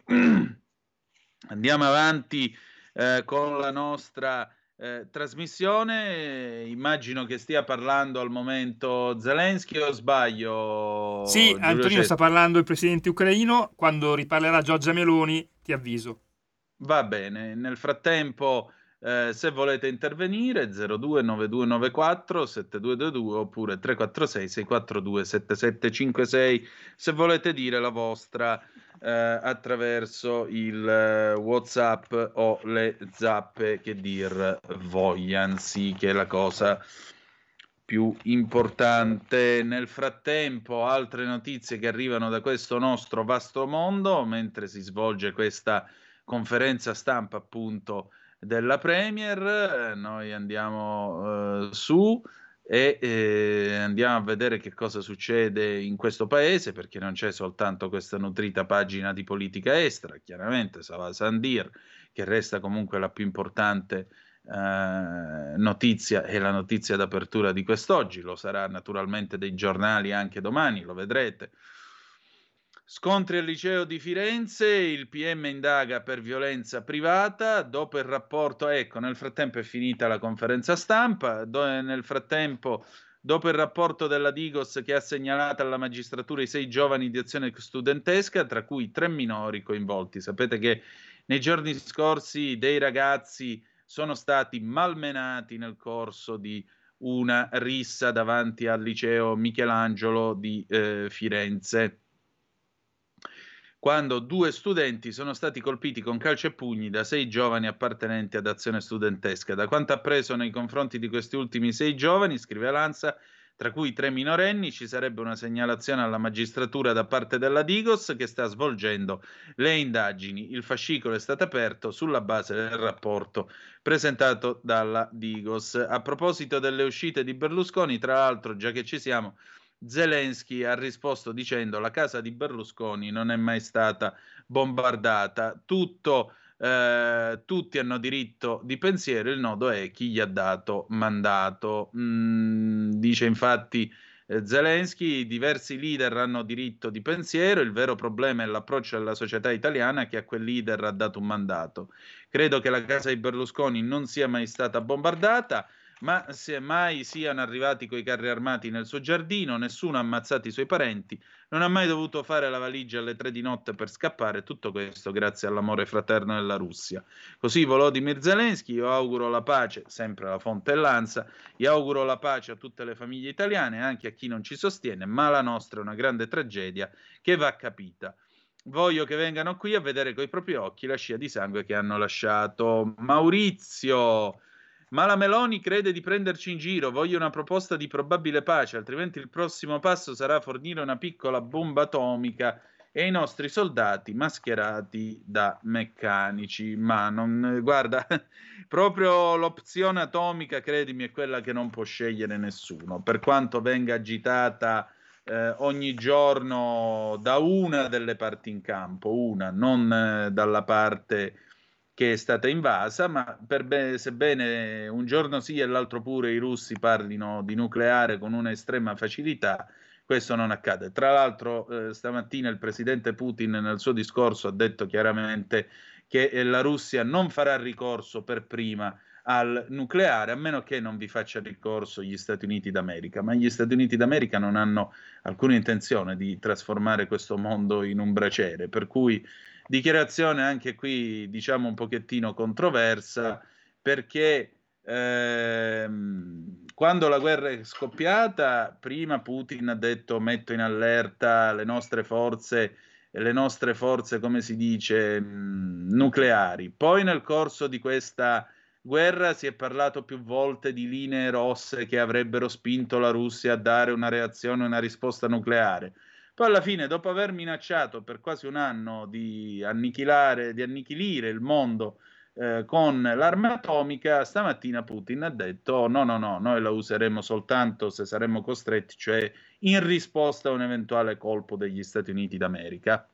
Andiamo avanti con la nostra trasmissione. Immagino che stia parlando al momento Zelensky o sbaglio? Sì, Giulio Antonino Cesare? sta parlando il presidente ucraino. Quando riparlerà Giorgia Meloni ti avviso. Va bene, nel frattempo se volete intervenire 029294 7222 oppure 346 642 7756 se volete dire la vostra attraverso il WhatsApp o le zappe che dir vogliano, sì, che è la cosa più importante. Nel frattempo altre notizie che arrivano da questo nostro vasto mondo mentre si svolge questa conferenza stampa appunto della Premier, noi andiamo su e andiamo a vedere che cosa succede in questo paese, perché non c'è soltanto questa nutrita pagina di politica estera, chiaramente Sava Sandir, che resta comunque la più importante notizia e la notizia d'apertura di quest'oggi, lo sarà naturalmente dei giornali anche domani, lo vedrete. Scontri al liceo di Firenze, il PM indaga per violenza privata, dopo il rapporto, ecco, nel frattempo è finita la conferenza stampa, nel frattempo, dopo il rapporto della Digos che ha segnalato alla magistratura i 6 giovani di azione studentesca, tra cui 3 minori coinvolti. Sapete che nei giorni scorsi dei ragazzi sono stati malmenati nel corso di una rissa davanti al liceo Michelangelo di Firenze, quando 2 studenti sono stati colpiti con calci e pugni da 6 giovani appartenenti ad azione studentesca. Da quanto appreso nei confronti di questi ultimi 6 giovani, scrive Lanza, tra cui 3 minorenni, ci sarebbe una segnalazione alla magistratura da parte della Digos che sta svolgendo le indagini. Il fascicolo è stato aperto sulla base del rapporto presentato dalla Digos. A proposito delle uscite di Berlusconi, tra l'altro, già che ci siamo, Zelensky ha risposto dicendo: la casa di Berlusconi non è mai stata bombardata, tutti hanno diritto di pensiero, il nodo è chi gli ha dato mandato. Dice infatti Zelensky, diversi leader hanno diritto di pensiero, il vero problema è l'approccio della società italiana che a quel leader ha dato un mandato. Credo che la casa di Berlusconi non sia mai stata bombardata, ma se mai siano arrivati coi carri armati nel suo giardino, nessuno ha ammazzato i suoi parenti, non ha mai dovuto fare la valigia alle 3 di notte per scappare, tutto questo grazie all'amore fraterno della Russia. Così Volodymyr Zelensky, io auguro la pace, sempre la fonte è Lanza, io auguro la pace a tutte le famiglie italiane, anche a chi non ci sostiene, ma la nostra è una grande tragedia che va capita. Voglio che vengano qui a vedere coi propri occhi la scia di sangue che hanno lasciato. Maurizio, ma la Meloni crede di prenderci in giro, voglio una proposta di probabile pace, altrimenti il prossimo passo sarà fornire una piccola bomba atomica e i nostri soldati mascherati da meccanici. Ma non, guarda, proprio l'opzione atomica, credimi, è quella che non può scegliere nessuno, per quanto venga agitata ogni giorno da una delle parti in campo, una, non dalla parte che è stata invasa, ma sebbene un giorno sì e l'altro pure i russi parlino di nucleare con una estrema facilità, questo non accade. Tra l'altro stamattina il presidente Putin nel suo discorso ha detto chiaramente che la Russia non farà ricorso per prima al nucleare, a meno che non vi faccia ricorso gli Stati Uniti d'America, ma gli Stati Uniti d'America non hanno alcuna intenzione di trasformare questo mondo in un braciere, per cui dichiarazione anche qui diciamo un pochettino controversa, perché quando la guerra è scoppiata prima Putin ha detto metto in allerta le nostre forze, come si dice, nucleari. Poi nel corso di questa guerra si è parlato più volte di linee rosse che avrebbero spinto la Russia a dare una reazione, una risposta nucleare. Poi alla fine, dopo aver minacciato per quasi un anno di annichilire il mondo con l'arma atomica, stamattina Putin ha detto no, noi la useremo soltanto se saremo costretti, cioè in risposta a un eventuale colpo degli Stati Uniti d'America.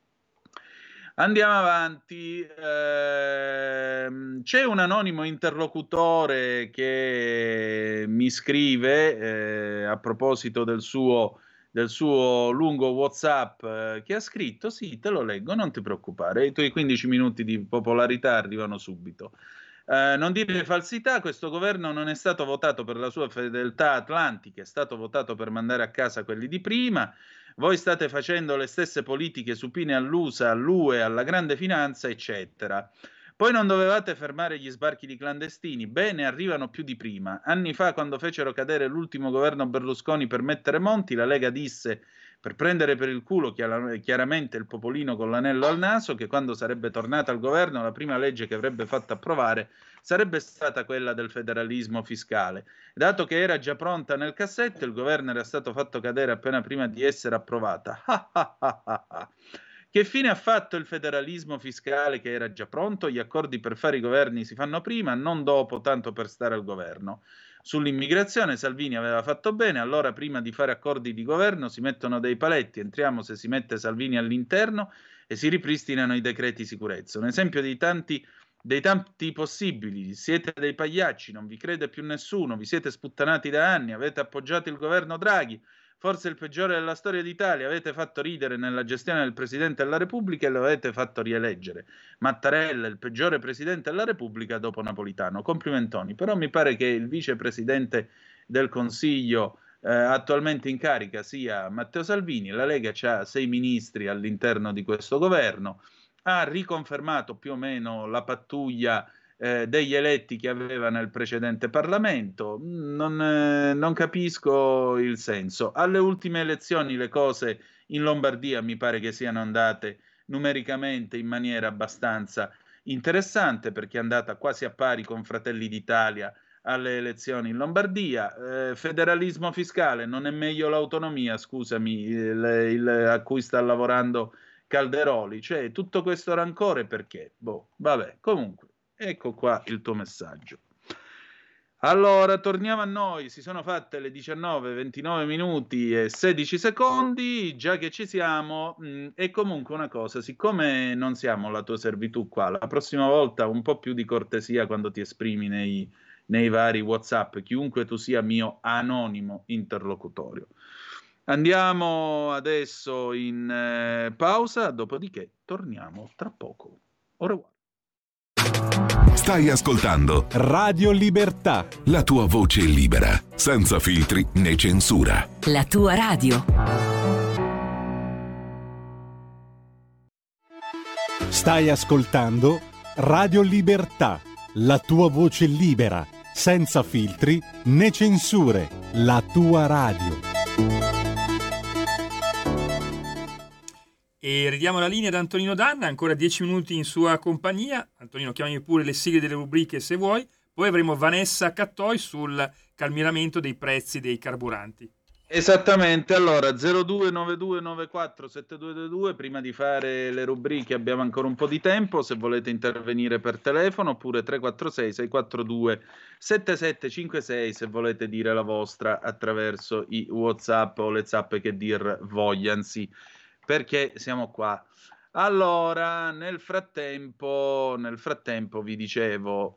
Andiamo avanti, c'è un anonimo interlocutore che mi scrive a proposito del suo lungo WhatsApp che ha scritto, sì, te lo leggo, non ti preoccupare, i tuoi 15 minuti di popolarità arrivano subito. Non dire falsità, questo governo non è stato votato per la sua fedeltà atlantica, è stato votato per mandare a casa quelli di prima. Voi state facendo le stesse politiche supine all'USA, all'UE, alla grande finanza, eccetera. Poi non dovevate fermare gli sbarchi di clandestini, bene, arrivano più di prima. Anni fa, quando fecero cadere l'ultimo governo Berlusconi per mettere Monti, la Lega disse, per prendere per il culo chiaramente il popolino con l'anello al naso, che quando sarebbe tornata al governo la prima legge che avrebbe fatto approvare sarebbe stata quella del federalismo fiscale. Dato che era già pronta nel cassetto, il governo era stato fatto cadere appena prima di essere approvata. Che fine ha fatto il federalismo fiscale che era già pronto? Gli accordi per fare i governi si fanno prima, non dopo, tanto per stare al governo. Sull'immigrazione Salvini aveva fatto bene, allora prima di fare accordi di governo si mettono dei paletti, entriamo se si mette Salvini all'interno e si ripristinano i decreti sicurezza. Un esempio dei tanti possibili, siete dei pagliacci, non vi crede più nessuno, vi siete sputtanati da anni, avete appoggiato il governo Draghi, forse il peggiore della storia d'Italia, avete fatto ridere nella gestione del Presidente della Repubblica e lo avete fatto rieleggere. Mattarella, il peggiore Presidente della Repubblica dopo Napolitano. Complimentoni, però mi pare che il Vicepresidente del Consiglio attualmente in carica sia Matteo Salvini. La Lega ha 6 ministri all'interno di questo governo, ha riconfermato più o meno la pattuglia degli eletti che aveva nel precedente Parlamento. Non capisco il senso. Alle ultime elezioni le cose in Lombardia mi pare che siano andate numericamente in maniera abbastanza interessante, perché è andata quasi a pari con Fratelli d'Italia alle elezioni in Lombardia. Federalismo fiscale, non è meglio l'autonomia, scusami, a cui sta lavorando Calderoli? Cioè, tutto questo rancore perché? Boh, vabbè, comunque. Ecco qua il tuo messaggio. Allora, torniamo a noi. Si sono fatte le 19, 29 minuti e 16 secondi. Già che ci siamo, e comunque una cosa, siccome non siamo la tua servitù qua, la prossima volta un po' più di cortesia quando ti esprimi nei vari WhatsApp, chiunque tu sia mio anonimo interlocutorio. Andiamo adesso in pausa, dopodiché torniamo tra poco. Au revoir. Stai ascoltando Radio Libertà, la tua voce libera, senza filtri né censura. La tua radio. Stai ascoltando Radio Libertà, la tua voce libera, senza filtri né censure. La tua radio. E ridiamo la linea ad Antonino Danna, ancora 10 minuti in sua compagnia. Antonino, chiamami pure le sigle delle rubriche se vuoi. Poi avremo Vanessa Cattoi sul calmieramento dei prezzi dei carburanti. Esattamente, allora 0292947222, prima di fare le rubriche abbiamo ancora un po' di tempo, se volete intervenire per telefono, oppure 346-642-7756 se volete dire la vostra attraverso i WhatsApp o le zappe che dir vogliansi, perché siamo qua. Allora, nel frattempo vi dicevo,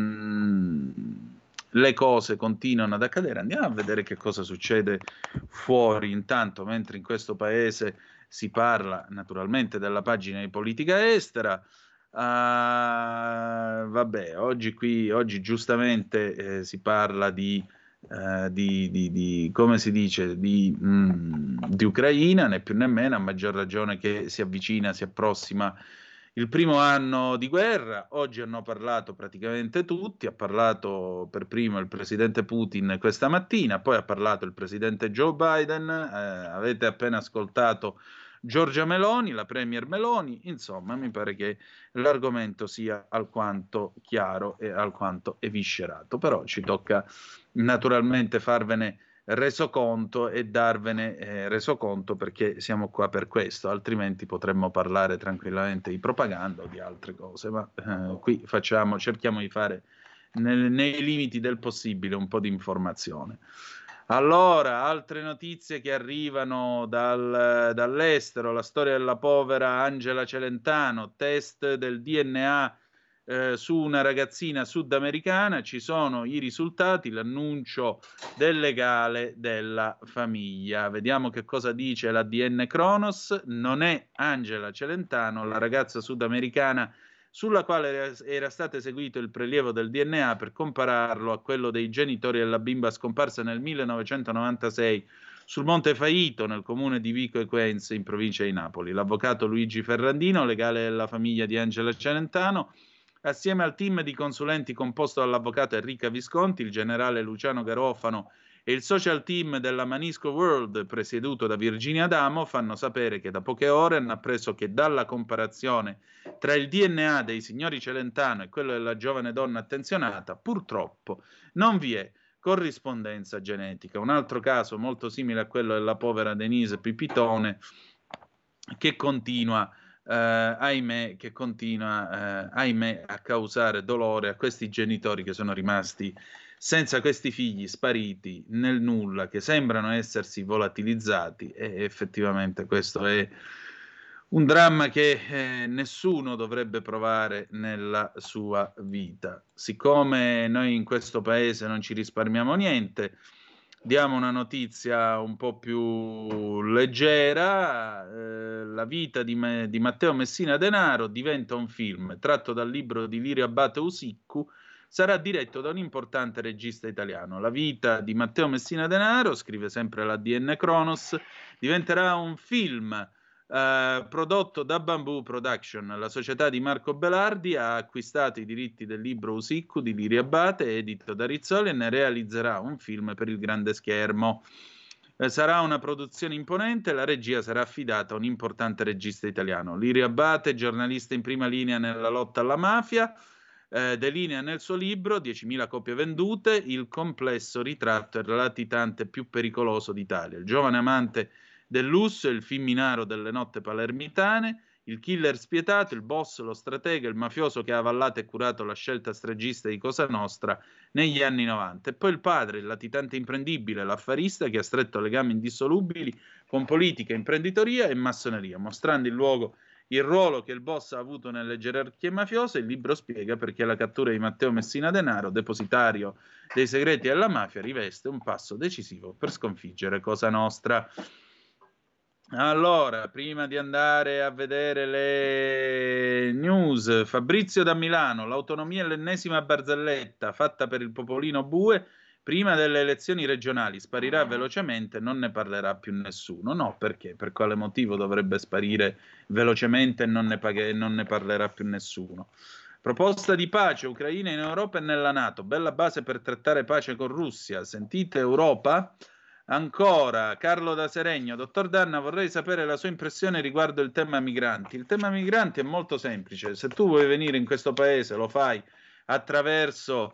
le cose continuano ad accadere. Andiamo a vedere che cosa succede fuori intanto, mentre in questo paese si parla naturalmente della pagina di politica estera. Vabbè, oggi giustamente si parla di come si dice, di Ucraina, né più né meno, a maggior ragione che si approssima il primo anno di guerra. Oggi hanno parlato praticamente tutti, ha parlato per primo il presidente Putin questa mattina, poi ha parlato il presidente Joe Biden, avete appena ascoltato Giorgia Meloni, la premier Meloni. Insomma, mi pare che l'argomento sia alquanto chiaro e alquanto eviscerato, però ci tocca naturalmente farvene resoconto e darvene resoconto, perché siamo qua per questo, altrimenti potremmo parlare tranquillamente di propaganda o di altre cose, ma qui cerchiamo di fare nei limiti del possibile un po' di informazione. Allora, altre notizie che arrivano dall'estero: la storia della povera Angela Celentano, test del DNA su una ragazzina sudamericana, ci sono i risultati, l'annuncio del legale della famiglia. Vediamo che cosa dice l'ADN Kronos. Non è Angela Celentano la ragazza sudamericana sulla quale era stato eseguito il prelievo del DNA per compararlo a quello dei genitori della bimba scomparsa nel 1996 sul Monte Faito, nel comune di Vico Equense, in provincia di Napoli. L'avvocato Luigi Ferrandino, legale della famiglia di Angela Celentano, assieme al team di consulenti composto dall'avvocato Enrica Visconti, il generale Luciano Garofano e il social team della Manisco World, presieduto da Virginia Adamo, fanno sapere che da poche ore hanno appreso che dalla comparazione tra il DNA dei signori Celentano e quello della giovane donna attenzionata, purtroppo non vi è corrispondenza genetica. Un altro caso molto simile a quello della povera Denise Pipitone, che continua ahimè a causare dolore a questi genitori che sono rimasti senza questi figli, spariti nel nulla, che sembrano essersi volatilizzati, e effettivamente questo è un dramma che nessuno dovrebbe provare nella sua vita. Siccome noi in questo paese non ci risparmiamo niente, Diamo una notizia un po' più leggera. La vita di Matteo Messina Denaro diventa un film tratto dal libro di Lirio Abate Usiccu. Sarà diretto da un importante regista italiano. La vita di Matteo Messina Denaro, scrive sempre l'ADN Kronos, diventerà un film prodotto da Bamboo Production. La società di Marco Belardi ha acquistato i diritti del libro Usiccu di Lirio Abate, edito da Rizzoli, e ne realizzerà un film per il grande schermo. Sarà una produzione imponente, la regia sarà affidata a un importante regista italiano. Lirio Abate, giornalista in prima linea nella lotta alla mafia, delinea nel suo libro 10.000 copie vendute il complesso ritratto del latitante più pericoloso d'Italia. Il giovane amante del lusso, il femminaro delle notte palermitane, il killer spietato, il boss, lo stratega, il mafioso che ha avallato e curato la scelta stregista di Cosa Nostra negli anni 90. E poi il padre, il latitante imprendibile, l'affarista che ha stretto legami indissolubili con politica, imprenditoria e massoneria, mostrando il ruolo che il boss ha avuto nelle gerarchie mafiose. Il libro spiega perché la cattura di Matteo Messina Denaro, depositario dei segreti della mafia, riveste un passo decisivo per sconfiggere Cosa Nostra. Allora, prima di andare a vedere le news, Fabrizio da Milano, l'autonomia è l'ennesima barzelletta fatta per il popolino bue prima delle elezioni regionali, sparirà velocemente, non ne parlerà più nessuno. No, perché? Per quale motivo dovrebbe sparire velocemente e non ne parlerà più nessuno? Proposta di pace, Ucraina in Europa e nella NATO, bella base per trattare pace con Russia. Sentite Europa? Ancora, Carlo da Seregno, dottor Danna, vorrei sapere la sua impressione riguardo il tema migranti. Il tema migranti è molto semplice. Se tu vuoi venire in questo paese, lo fai attraverso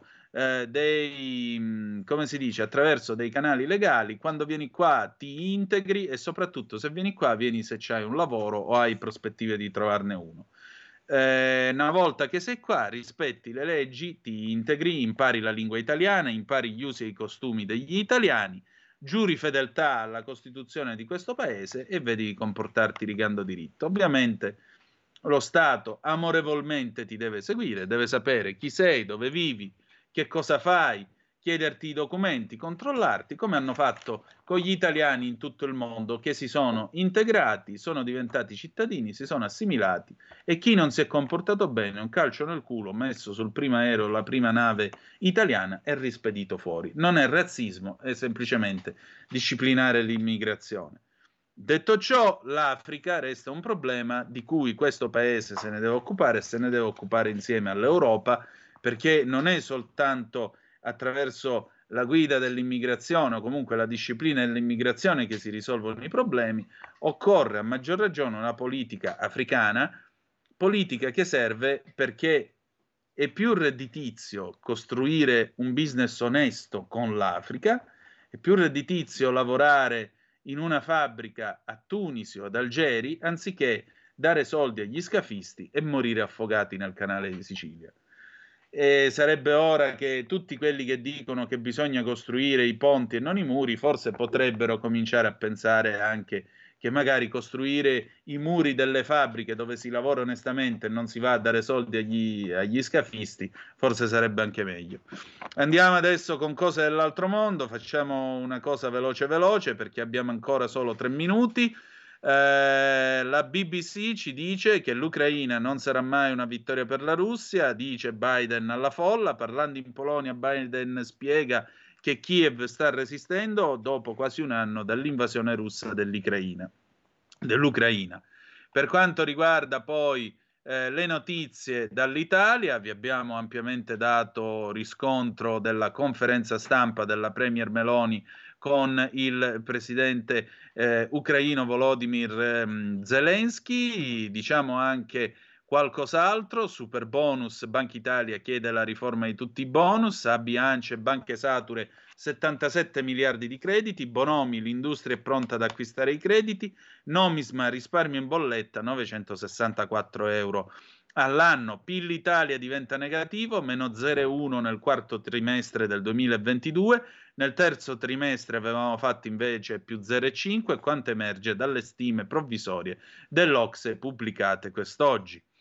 attraverso dei canali legali. Quando vieni qua ti integri e soprattutto se vieni qua vieni se c'hai un lavoro o hai prospettive di trovarne uno. Una volta che sei qua, rispetti le leggi, ti integri, impari la lingua italiana, impari gli usi e i costumi degli italiani, giuri fedeltà alla Costituzione di questo paese e vedi di comportarti rigando diritto. Ovviamente lo Stato amorevolmente ti deve seguire, deve sapere chi sei, dove vivi, che cosa fai, chiederti i documenti, controllarti, come hanno fatto con gli italiani in tutto il mondo che si sono integrati, sono diventati cittadini, si sono assimilati, e chi non si è comportato bene, un calcio nel culo messo sul primo aereo, la prima nave italiana, è rispedito fuori. Non è razzismo, è semplicemente disciplinare l'immigrazione. Detto ciò, l'Africa resta un problema di cui questo paese se ne deve occupare e se ne deve occupare insieme all'Europa, perché non è soltanto attraverso la guida dell'immigrazione o comunque la disciplina dell'immigrazione che si risolvono i problemi. Occorre a maggior ragione una politica africana, politica che serve perché è più redditizio costruire un business onesto con l'Africa, è più redditizio lavorare in una fabbrica a Tunisi o ad Algeri anziché dare soldi agli scafisti e morire affogati nel canale di Sicilia. E sarebbe ora che tutti quelli che dicono che bisogna costruire i ponti e non i muri forse potrebbero cominciare a pensare anche che magari costruire i muri delle fabbriche dove si lavora onestamente e non si va a dare soldi agli scafisti forse sarebbe anche meglio. Andiamo adesso con cose dell'altro mondo, facciamo una cosa veloce perché abbiamo ancora solo 3 minuti. La BBC ci dice che l'Ucraina non sarà mai una vittoria per la Russia, dice Biden alla folla. Parlando in Polonia, Biden spiega che Kiev sta resistendo dopo quasi un anno dall'invasione russa dell'Ucraina. Per quanto riguarda poi le notizie dall'Italia, vi abbiamo ampiamente dato riscontro della conferenza stampa della Premier Meloni con il presidente ucraino Volodymyr Zelensky. Diciamo anche qualcos'altro: super bonus, Banca Italia chiede la riforma di tutti i bonus, ABI, ANCE, banche sature 77 miliardi di crediti, Bonomi, l'industria è pronta ad acquistare i crediti, Nomisma, risparmio in bolletta 964 euro all'anno, PIL Italia diventa negativo, meno 0,1 nel quarto trimestre del 2022, nel terzo trimestre avevamo fatto invece più 0,5, quanto emerge dalle stime provvisorie dell'Ocse pubblicate quest'oggi.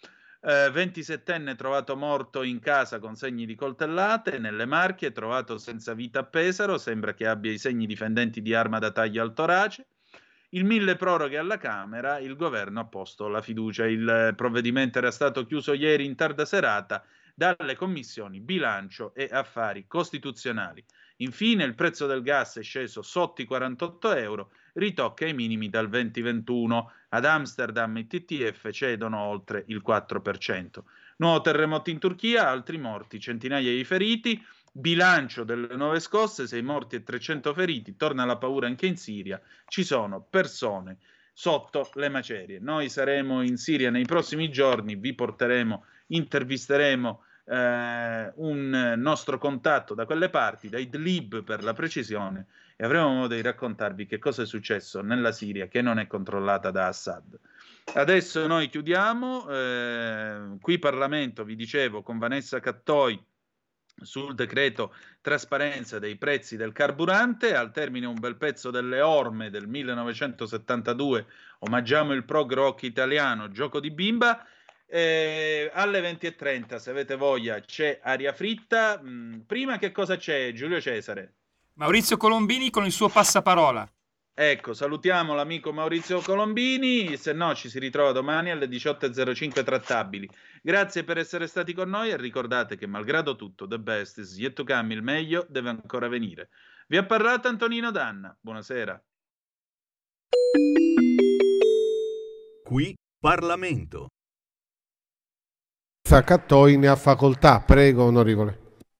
27enne trovato morto in casa con segni di coltellate. Nelle Marche trovato senza vita a Pesaro, sembra che abbia i segni di fendenti di arma da taglio al torace. Il mille proroghe alla Camera, il governo ha posto la fiducia. Il provvedimento era stato chiuso ieri in tarda serata dalle commissioni bilancio e affari costituzionali. Infine il prezzo del gas è sceso sotto i 48 euro, ritocca i minimi dal 2021. Ad Amsterdam i TTF cedono oltre il 4%. Nuovo terremoto in Turchia, altri morti, centinaia di feriti. Bilancio delle nuove scosse, 6 morti e 300 feriti, torna la paura anche in Siria, ci sono persone sotto le macerie. Noi saremo in Siria nei prossimi giorni, vi porteremo, intervisteremo un nostro contatto da quelle parti, da Idlib per la precisione, e avremo modo di raccontarvi che cosa è successo nella Siria che non è controllata da Assad. Adesso noi chiudiamo, qui Parlamento, vi dicevo, con Vanessa Cattoi sul decreto trasparenza dei prezzi del carburante. Al termine un bel pezzo delle orme del 1972, omaggiamo il prog rock italiano, Gioco di bimba. Alle 20:30, se avete voglia, c'è Aria Fritta. Prima che cosa c'è, Giulio Cesare? Maurizio Colombini con il suo passaparola. Ecco, salutiamo l'amico Maurizio Colombini, se no ci si ritrova domani alle 18:05 trattabili. Grazie per essere stati con noi e ricordate che malgrado tutto, the best is yet to come, il meglio deve ancora venire. Vi ha parlato Antonino Danna, buonasera. Qui Parlamento. Cattoi ne ha facoltà, prego onorevole.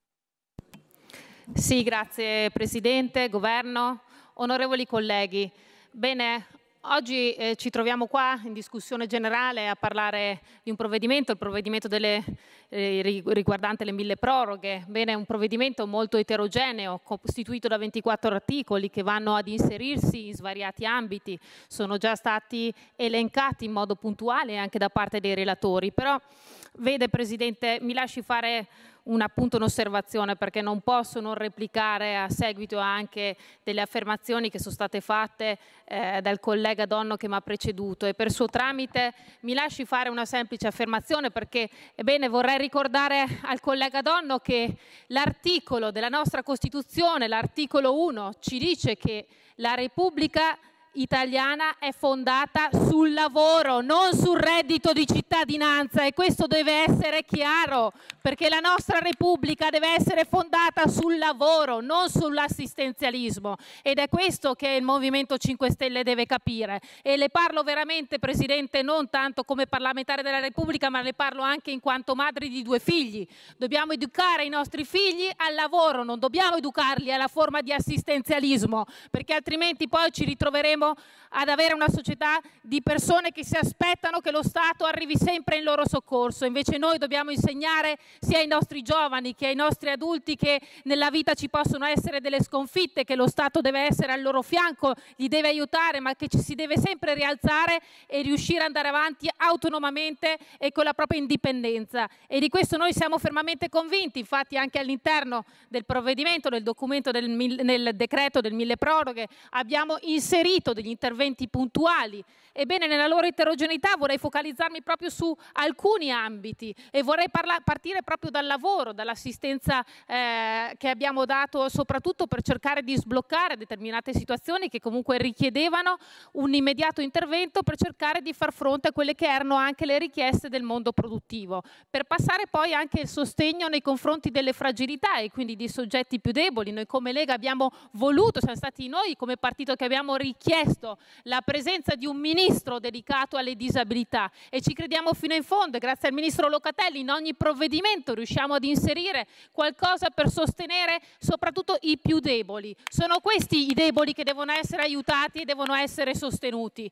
Sì, grazie Presidente, Governo, onorevoli colleghi. Bene, oggi ci troviamo qua in discussione generale a parlare di un provvedimento, il provvedimento riguardante le 1000 proroghe. Bene, un provvedimento molto eterogeneo, costituito da 24 articoli che vanno ad inserirsi in svariati ambiti. Sono già stati elencati in modo puntuale anche da parte dei relatori, però vede Presidente, mi lasci fare un'osservazione, perché non posso non replicare a seguito anche delle affermazioni che sono state fatte dal collega Donno che mi ha preceduto, e per suo tramite mi lasci fare una semplice affermazione, perché ebbene vorrei ricordare al collega Donno che l'articolo della nostra Costituzione, l'articolo 1, ci dice che la Repubblica italiana è fondata sul lavoro, non sul reddito di cittadinanza, e questo deve essere chiaro, perché la nostra Repubblica deve essere fondata sul lavoro, non sull'assistenzialismo, ed è questo che il Movimento 5 Stelle deve capire. E le parlo veramente, Presidente, non tanto come parlamentare della Repubblica, ma le parlo anche in quanto madre di 2 figli. Dobbiamo educare i nostri figli al lavoro, non dobbiamo educarli alla forma di assistenzialismo, perché altrimenti poi ci ritroveremo ad avere una società di persone che si aspettano che lo Stato arrivi sempre in loro soccorso. Invece noi dobbiamo insegnare sia ai nostri giovani che ai nostri adulti che nella vita ci possono essere delle sconfitte, che lo Stato deve essere al loro fianco, li deve aiutare, ma che ci si deve sempre rialzare e riuscire ad andare avanti autonomamente e con la propria indipendenza. E di questo noi siamo fermamente convinti. Infatti anche all'interno del provvedimento, del documento nel decreto del 1000 proroghe, abbiamo inserito degli interventi puntuali. Ebbene, nella loro eterogeneità vorrei focalizzarmi proprio su alcuni ambiti e vorrei partire proprio dal lavoro, dall'assistenza che abbiamo dato soprattutto per cercare di sbloccare determinate situazioni che comunque richiedevano un immediato intervento per cercare di far fronte a quelle che erano anche le richieste del mondo produttivo, per passare poi anche il sostegno nei confronti delle fragilità e quindi di soggetti più deboli. Noi come Lega abbiamo voluto, siamo stati noi come partito che abbiamo richiesto la presenza di un ministro dedicato alle disabilità e ci crediamo fino in fondo, e grazie al ministro Locatelli in ogni provvedimento riusciamo ad inserire qualcosa per sostenere soprattutto i più deboli. Sono questi i deboli che devono essere aiutati e devono essere sostenuti,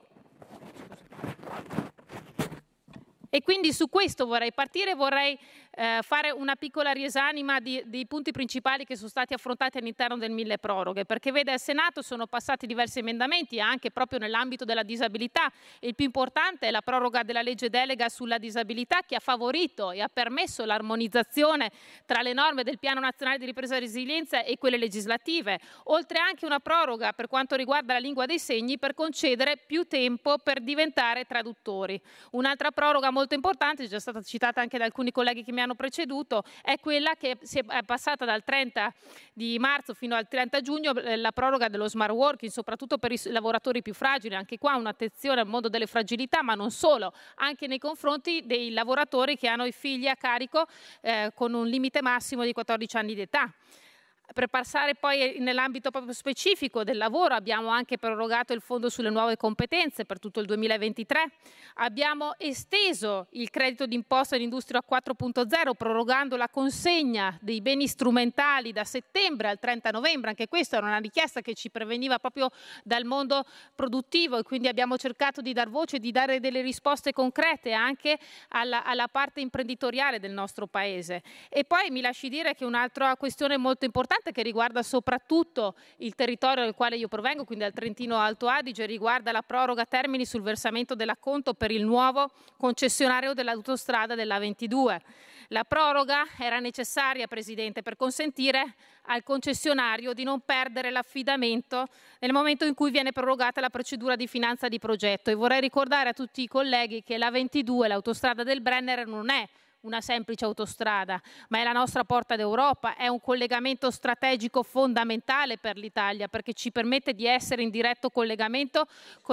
e quindi su questo vorrei partire, vorrei fare una piccola riesanima dei punti principali che sono stati affrontati all'interno del mille proroghe, perché vede al Senato sono passati diversi emendamenti anche proprio nell'ambito della disabilità. Il più importante è la proroga della legge delega sulla disabilità, che ha favorito e ha permesso l'armonizzazione tra le norme del Piano Nazionale di Ripresa e Resilienza e quelle legislative, oltre anche una proroga per quanto riguarda la lingua dei segni per concedere più tempo per diventare traduttori. Un'altra proroga molto importante, è già stata citata anche da alcuni colleghi che mi hanno preceduto, è quella che è passata dal 30 di marzo fino al 30 giugno, la proroga dello smart working, soprattutto per i lavoratori più fragili. Anche qua un'attenzione al mondo delle fragilità, ma non solo, anche nei confronti dei lavoratori che hanno i figli a carico con un limite massimo di 14 anni di età. Per passare poi nell'ambito proprio specifico del lavoro, abbiamo anche prorogato il fondo sulle nuove competenze per tutto il 2023, abbiamo esteso il credito d'imposta dell'industria 4.0 prorogando la consegna dei beni strumentali da settembre al 30 novembre, anche questa era una richiesta che ci preveniva proprio dal mondo produttivo e quindi abbiamo cercato di dar voce, di dare delle risposte concrete anche alla parte imprenditoriale del nostro Paese. E poi mi lasci dire che un'altra questione molto importante che riguarda soprattutto il territorio dal quale io provengo, quindi dal Trentino Alto Adige, riguarda la proroga termini sul versamento dell'acconto per il nuovo concessionario dell'autostrada della 22. La proroga era necessaria, Presidente, per consentire al concessionario di non perdere l'affidamento nel momento in cui viene prorogata la procedura di finanza di progetto. E vorrei ricordare a tutti i colleghi che la 22, l'autostrada del Brennero, non è una semplice autostrada, ma è la nostra porta d'Europa, è un collegamento strategico fondamentale per l'Italia perché ci permette di essere in diretto collegamento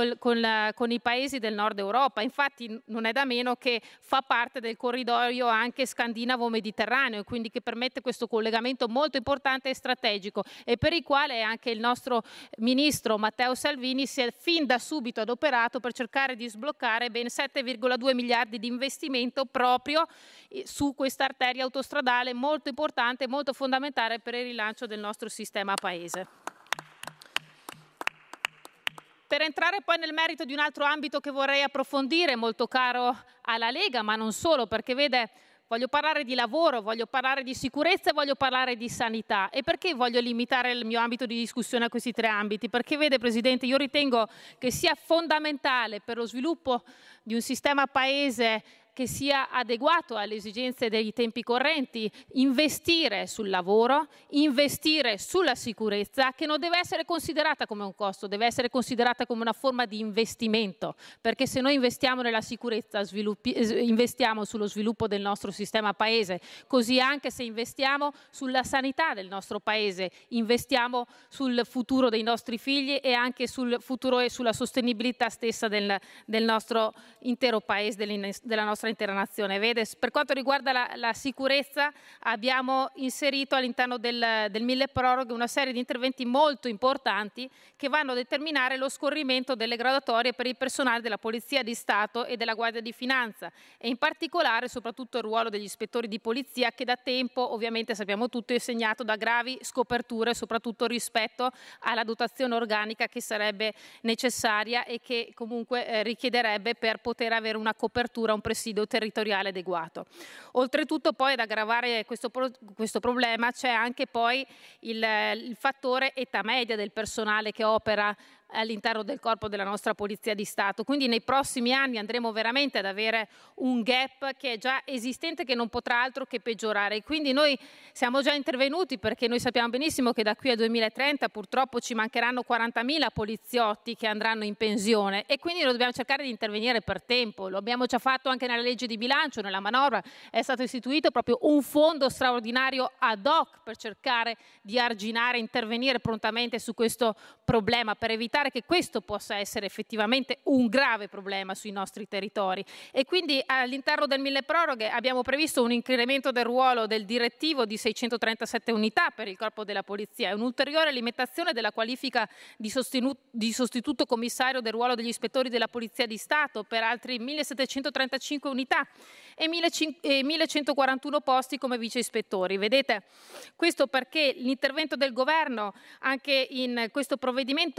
con i paesi del nord Europa. Infatti non è da meno che fa parte del corridoio anche scandinavo-mediterraneo e quindi che permette questo collegamento molto importante e strategico e per il quale anche il nostro ministro Matteo Salvini si è fin da subito adoperato per cercare di sbloccare ben 7,2 miliardi di investimento proprio su questa arteria autostradale molto importante e molto fondamentale per il rilancio del nostro sistema paese. Per entrare poi nel merito di un altro ambito che vorrei approfondire, molto caro alla Lega, ma non solo, perché vede, voglio parlare di lavoro, voglio parlare di sicurezza e voglio parlare di sanità. E perché voglio limitare il mio ambito di discussione a questi tre ambiti? Perché vede, Presidente, io ritengo che sia fondamentale per lo sviluppo di un sistema paese che sia adeguato alle esigenze dei tempi correnti, investire sul lavoro, investire sulla sicurezza, che non deve essere considerata come un costo, deve essere considerata come una forma di investimento, perché se noi investiamo nella sicurezza, investiamo sullo sviluppo del nostro sistema paese, così anche se investiamo sulla sanità del nostro paese, investiamo sul futuro dei nostri figli e anche sul futuro e sulla sostenibilità stessa del nostro intero paese, della nostra intera nazione. Vede, per quanto riguarda la sicurezza abbiamo inserito all'interno del mille proroghe una serie di interventi molto importanti che vanno a determinare lo scorrimento delle graduatorie per il personale della Polizia di Stato e della Guardia di Finanza e in particolare soprattutto il ruolo degli ispettori di polizia che da tempo ovviamente sappiamo tutti è segnato da gravi scoperture soprattutto rispetto alla dotazione organica che sarebbe necessaria e che comunque richiederebbe per poter avere una copertura, un presidio territoriale adeguato. Oltretutto poi ad aggravare questo problema c'è anche poi il fattore età media del personale che opera all'interno del corpo della nostra Polizia di Stato. Quindi nei prossimi anni andremo veramente ad avere un gap che è già esistente che non potrà altro che peggiorare. E quindi noi siamo già intervenuti perché noi sappiamo benissimo che da qui al 2030 purtroppo ci mancheranno 40.000 poliziotti che andranno in pensione e quindi noi dobbiamo cercare di intervenire per tempo. Lo abbiamo già fatto anche nella legge di bilancio, nella manovra è stato istituito proprio un fondo straordinario ad hoc per cercare di arginare, intervenire prontamente su questo problema per evitare che questo possa essere effettivamente un grave problema sui nostri territori. E quindi all'interno del mille proroghe abbiamo previsto un incremento del ruolo del direttivo di 637 unità per il corpo della polizia e un'ulteriore alimentazione della qualifica di sostituto commissario del ruolo degli ispettori della Polizia di Stato per altri 1735 unità e 1141 posti come vice ispettori. Vedete, questo perché l'intervento del governo anche in questo provvedimento va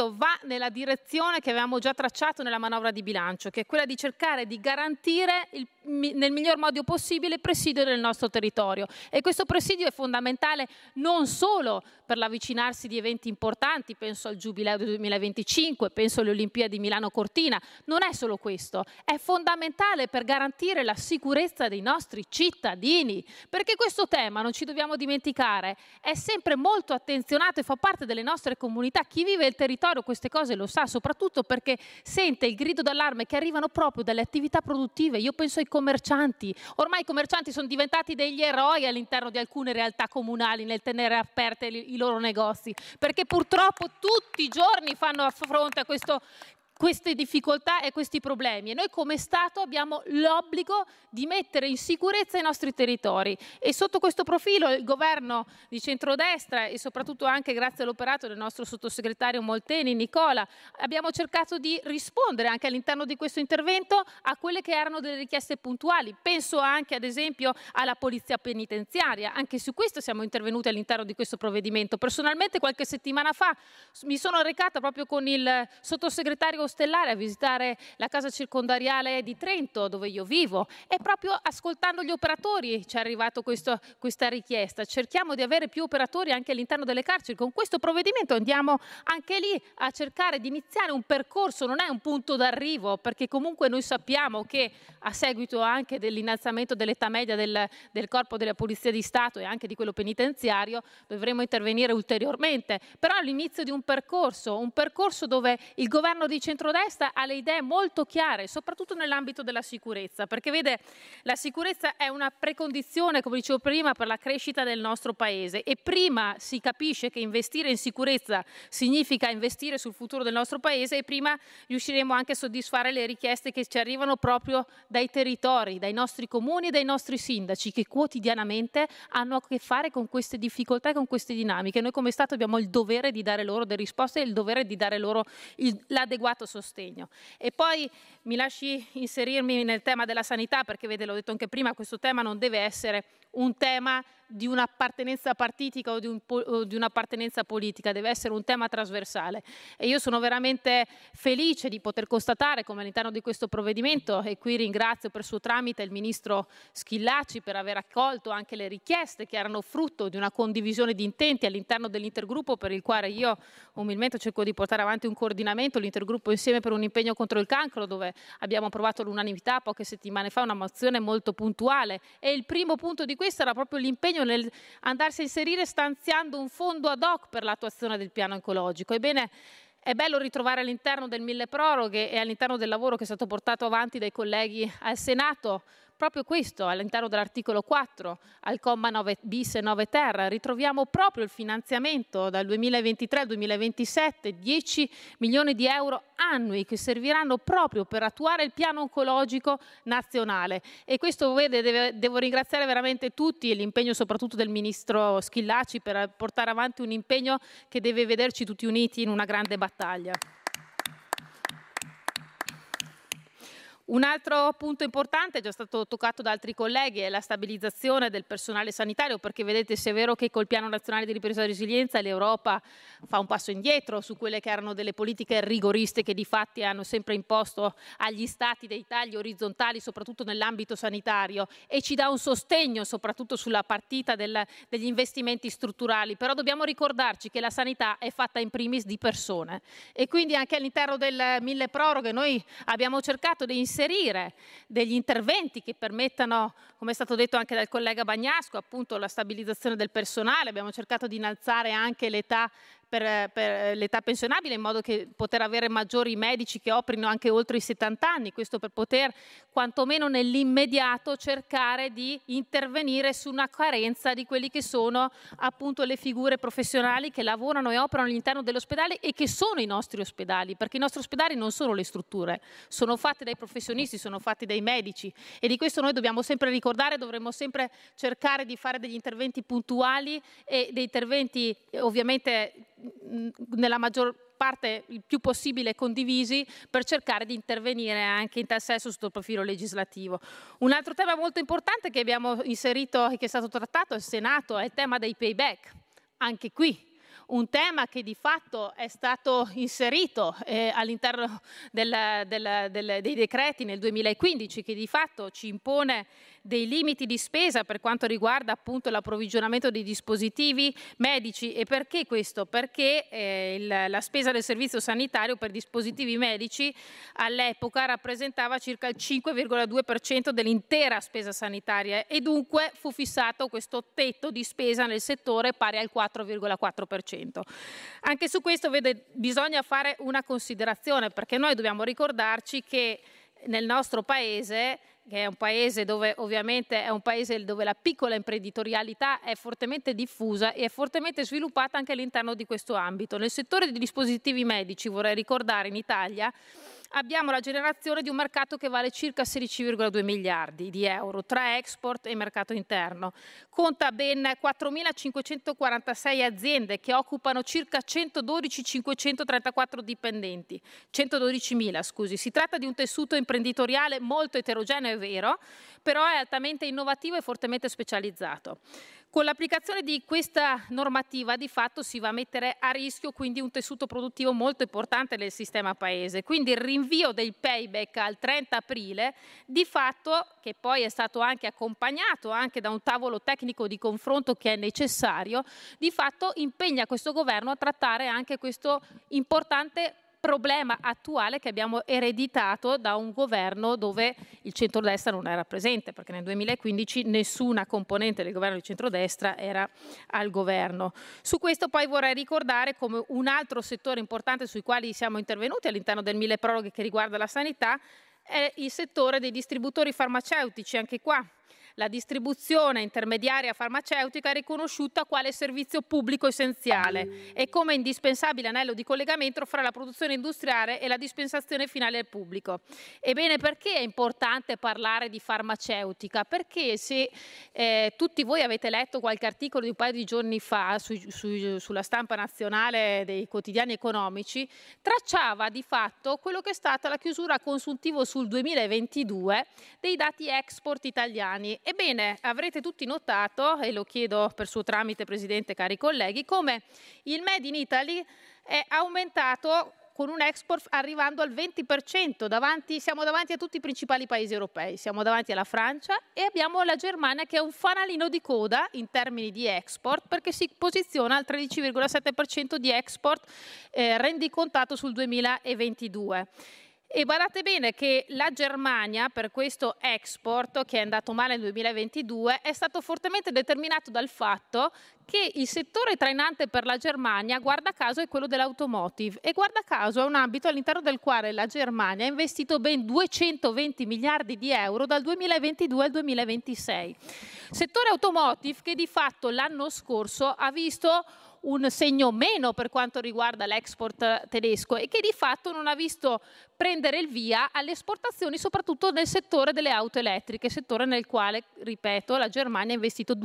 nella direzione che avevamo già tracciato nella manovra di bilancio, che è quella di cercare di garantire nel miglior modo possibile il presidio del nostro territorio. E questo presidio è fondamentale non solo per l'avvicinarsi di eventi importanti, penso al Giubileo del 2025, penso alle Olimpiadi Milano-Cortina, non è solo questo, è fondamentale per garantire la sicurezza dei nostri cittadini, perché questo tema, non ci dobbiamo dimenticare, è sempre molto attenzionato e fa parte delle nostre comunità. Chi vive il territorio queste cose lo sa, soprattutto perché sente il grido d'allarme che arrivano proprio dalle attività produttive. Io penso ai commercianti, ormai i commercianti sono diventati degli eroi all'interno di alcune realtà comunali nel tenere aperte i loro negozi, perché purtroppo tutti i giorni fanno fronte a queste difficoltà e questi problemi, e noi come Stato abbiamo l'obbligo di mettere in sicurezza i nostri territori. E sotto questo profilo il governo di centrodestra, e soprattutto anche grazie all'operato del nostro sottosegretario Molteni, Nicola, abbiamo cercato di rispondere anche all'interno di questo intervento a quelle che erano delle richieste puntuali. Penso anche ad esempio alla polizia penitenziaria, anche su questo siamo intervenuti all'interno di questo provvedimento. Personalmente qualche settimana fa mi sono recata proprio con il sottosegretario Ostellari a visitare la casa circondariale di Trento, dove io vivo, e proprio ascoltando gli operatori ci è arrivata questa richiesta. Cerchiamo di avere più operatori anche all'interno delle carceri. Con questo provvedimento andiamo anche lì a cercare di iniziare un percorso, non è un punto d'arrivo, perché comunque noi sappiamo che a seguito anche dell'innalzamento dell'età media del corpo della Polizia di Stato e anche di quello penitenziario dovremo intervenire ulteriormente, però all'inizio di un percorso dove il governo di centrodestra ha le idee molto chiare, soprattutto nell'ambito della sicurezza, perché vede, la sicurezza è una precondizione, come dicevo prima, per la crescita del nostro paese, e prima si capisce che investire in sicurezza significa investire sul futuro del nostro paese, e prima riusciremo anche a soddisfare le richieste che ci arrivano proprio dai territori, dai nostri comuni e dai nostri sindaci, che quotidianamente hanno a che fare con queste difficoltà e con queste dinamiche. Noi come Stato abbiamo il dovere di dare loro delle risposte e il dovere di dare loro l'adeguato sostegno. E poi mi lasci inserirmi nel tema della sanità, perché vede, l'ho detto anche prima, questo tema non deve essere un tema di un'appartenenza partitica o di un'appartenenza politica, deve essere un tema trasversale. E io sono veramente felice di poter constatare come all'interno di questo provvedimento, e qui ringrazio per suo tramite il ministro Schillaci per aver accolto anche le richieste che erano frutto di una condivisione di intenti all'interno dell'intergruppo, per il quale io umilmente cerco di portare avanti un coordinamento, l'intergruppo Insieme per un impegno contro il cancro, dove abbiamo approvato all'unanimità poche settimane fa una mozione molto puntuale, e il primo punto di questo era proprio l'impegno nel andarsi a inserire stanziando un fondo ad hoc per l'attuazione del piano oncologico. Ebbene, è bello ritrovare all'interno del milleproroghe e all'interno del lavoro che è stato portato avanti dai colleghi al Senato proprio questo, all'interno dell'articolo 4, al comma 9 bis e 9 ter, ritroviamo proprio il finanziamento dal 2023 al 2027, 10 milioni di euro annui che serviranno proprio per attuare il piano oncologico nazionale. E questo, vede, devo ringraziare veramente tutti e l'impegno soprattutto del ministro Schillaci per portare avanti un impegno che deve vederci tutti uniti in una grande battaglia. Un altro punto importante, già stato toccato da altri colleghi, è la stabilizzazione del personale sanitario, perché vedete, se è vero che col Piano Nazionale di Ripresa e Resilienza l'Europa fa un passo indietro su quelle che erano delle politiche rigoriste che di fatti hanno sempre imposto agli Stati dei tagli orizzontali, soprattutto nell'ambito sanitario, e ci dà un sostegno soprattutto sulla partita degli investimenti strutturali, però dobbiamo ricordarci che la sanità è fatta in primis di persone, e quindi anche all'interno del milleproroghe noi abbiamo cercato di inserire degli interventi che permettano, come è stato detto anche dal collega Bagnasco, appunto la stabilizzazione del personale. Abbiamo cercato di innalzare anche l'età per l'età pensionabile, in modo che poter avere maggiori medici che operino anche oltre i 70 anni, questo per poter quantomeno nell'immediato cercare di intervenire su una carenza di quelli che sono appunto le figure professionali che lavorano e operano all'interno dell'ospedale e che sono i nostri ospedali, perché i nostri ospedali non sono le strutture, sono fatti dai professionisti, sono fatti dai medici, e di questo noi dobbiamo sempre ricordare, dovremmo sempre cercare di fare degli interventi puntuali e dei interventi ovviamente nella maggior parte il più possibile condivisi, per cercare di intervenire anche in tal senso sotto il profilo legislativo. Un altro tema molto importante che abbiamo inserito e che è stato trattato al Senato è il tema dei payback. Anche qui un tema che di fatto è stato inserito all'interno dei decreti nel 2015, che di fatto ci impone dei limiti di spesa per quanto riguarda appunto l'approvvigionamento dei dispositivi medici. E perché questo? Perché la spesa del servizio sanitario per dispositivi medici all'epoca rappresentava circa il 5,2% dell'intera spesa sanitaria e dunque fu fissato questo tetto di spesa nel settore pari al 4,4%. Anche su questo bisogna fare una considerazione, perché noi dobbiamo ricordarci che nel nostro paese, che è un paese dove ovviamente è un paese dove la piccola imprenditorialità è fortemente diffusa e è fortemente sviluppata anche all'interno di questo ambito. Nel settore dei dispositivi medici, vorrei ricordare, in Italia abbiamo la generazione di un mercato che vale circa 16,2 miliardi di euro tra export e mercato interno. Conta ben 4.546 aziende che occupano circa 112.534 dipendenti, 112.000 scusi. Si tratta di un tessuto imprenditoriale molto eterogeneo, è vero, però è altamente innovativo e fortemente specializzato. Con l'applicazione di questa normativa di fatto si va a mettere a rischio quindi un tessuto produttivo molto importante del sistema paese. Quindi il rinvio del payback al 30 aprile di fatto, che poi è stato anche accompagnato anche da un tavolo tecnico di confronto che è necessario, di fatto impegna questo governo a trattare anche questo importante problema attuale che abbiamo ereditato da un governo dove il centrodestra non era presente, perché nel 2015 nessuna componente del governo di centrodestra era al governo. Su questo poi vorrei ricordare come un altro settore importante sui quali siamo intervenuti all'interno del mille proroghe che riguarda la sanità è il settore dei distributori farmaceutici. Anche qua la distribuzione intermediaria farmaceutica è riconosciuta quale servizio pubblico essenziale e come indispensabile anello di collegamento fra la produzione industriale e la dispensazione finale al pubblico. Ebbene, perché è importante parlare di farmaceutica? Perché se tutti voi avete letto qualche articolo di un paio di giorni fa sulla stampa nazionale dei quotidiani economici, tracciava di fatto quello che è stata la chiusura a consuntivo sul 2022 dei dati export italiani. Ebbene, avrete tutti notato, e lo chiedo per suo tramite, Presidente, cari colleghi, come il Made in Italy è aumentato con un export arrivando al 20%. Siamo davanti a tutti i principali paesi europei, siamo davanti alla Francia e abbiamo la Germania che è un fanalino di coda in termini di export perché si posiziona al 13,7% di export rendicontato sul 2022. E badate bene che la Germania, per questo export che è andato male nel 2022, è stato fortemente determinato dal fatto che il settore trainante per la Germania, guarda caso, è quello dell'automotive e guarda caso è un ambito all'interno del quale la Germania ha investito ben 220 miliardi di euro dal 2022 al 2026. Settore automotive che di fatto l'anno scorso ha visto un segno meno per quanto riguarda l'export tedesco e che di fatto non ha visto prendere il via alle esportazioni soprattutto nel settore delle auto elettriche, settore nel quale, ripeto, la Germania ha investito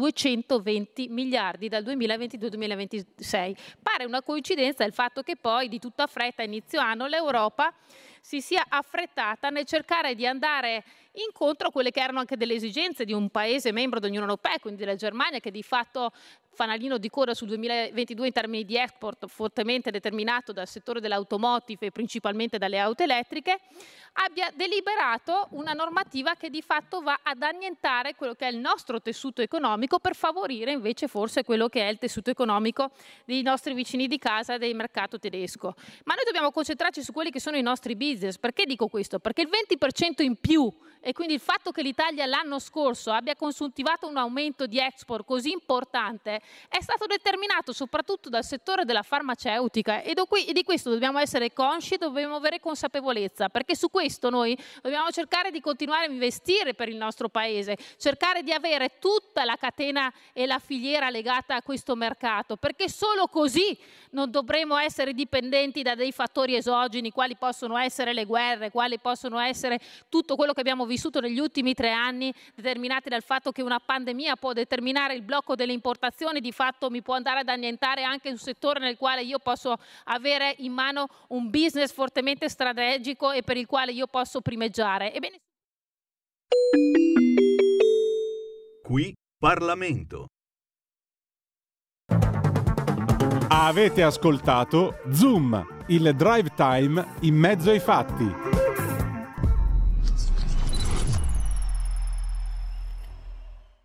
220 miliardi dal 2022 al 2026. Pare una coincidenza il fatto che poi di tutta fretta a inizio anno l'Europa si sia affrettata nel cercare di andare incontro a quelle che erano anche delle esigenze di un paese membro dell'Unione Europea, quindi della Germania, che di fatto fanalino di coda sul 2022 in termini di export fortemente determinato dal settore dell'automotive e principalmente dalle auto elettriche, abbia deliberato una normativa che di fatto va ad annientare quello che è il nostro tessuto economico per favorire invece forse quello che è il tessuto economico dei nostri vicini di casa del mercato tedesco. Ma noi dobbiamo concentrarci su quelli che sono i nostri business. Perché dico questo? Perché il 20% in più e quindi il fatto che l'Italia l'anno scorso abbia consuntivato un aumento di export così importante è stato determinato soprattutto dal settore della farmaceutica e di questo dobbiamo essere consci e dobbiamo avere consapevolezza, perché su questo noi dobbiamo cercare di continuare a investire per il nostro paese, cercare di avere tutta la catena e la filiera legata a questo mercato, perché solo così non dovremo essere dipendenti da dei fattori esogeni quali possono essere le guerre, quali possono essere tutto quello che abbiamo vissuto negli ultimi 3 anni, determinati dal fatto che una pandemia può determinare il blocco delle importazioni, di fatto mi può andare ad annientare anche un settore nel quale io posso avere in mano un business fortemente strategico e per il quale io posso primeggiare. Ebbene... Qui Parlamento. Avete ascoltato Zoom, il drive time in mezzo ai fatti.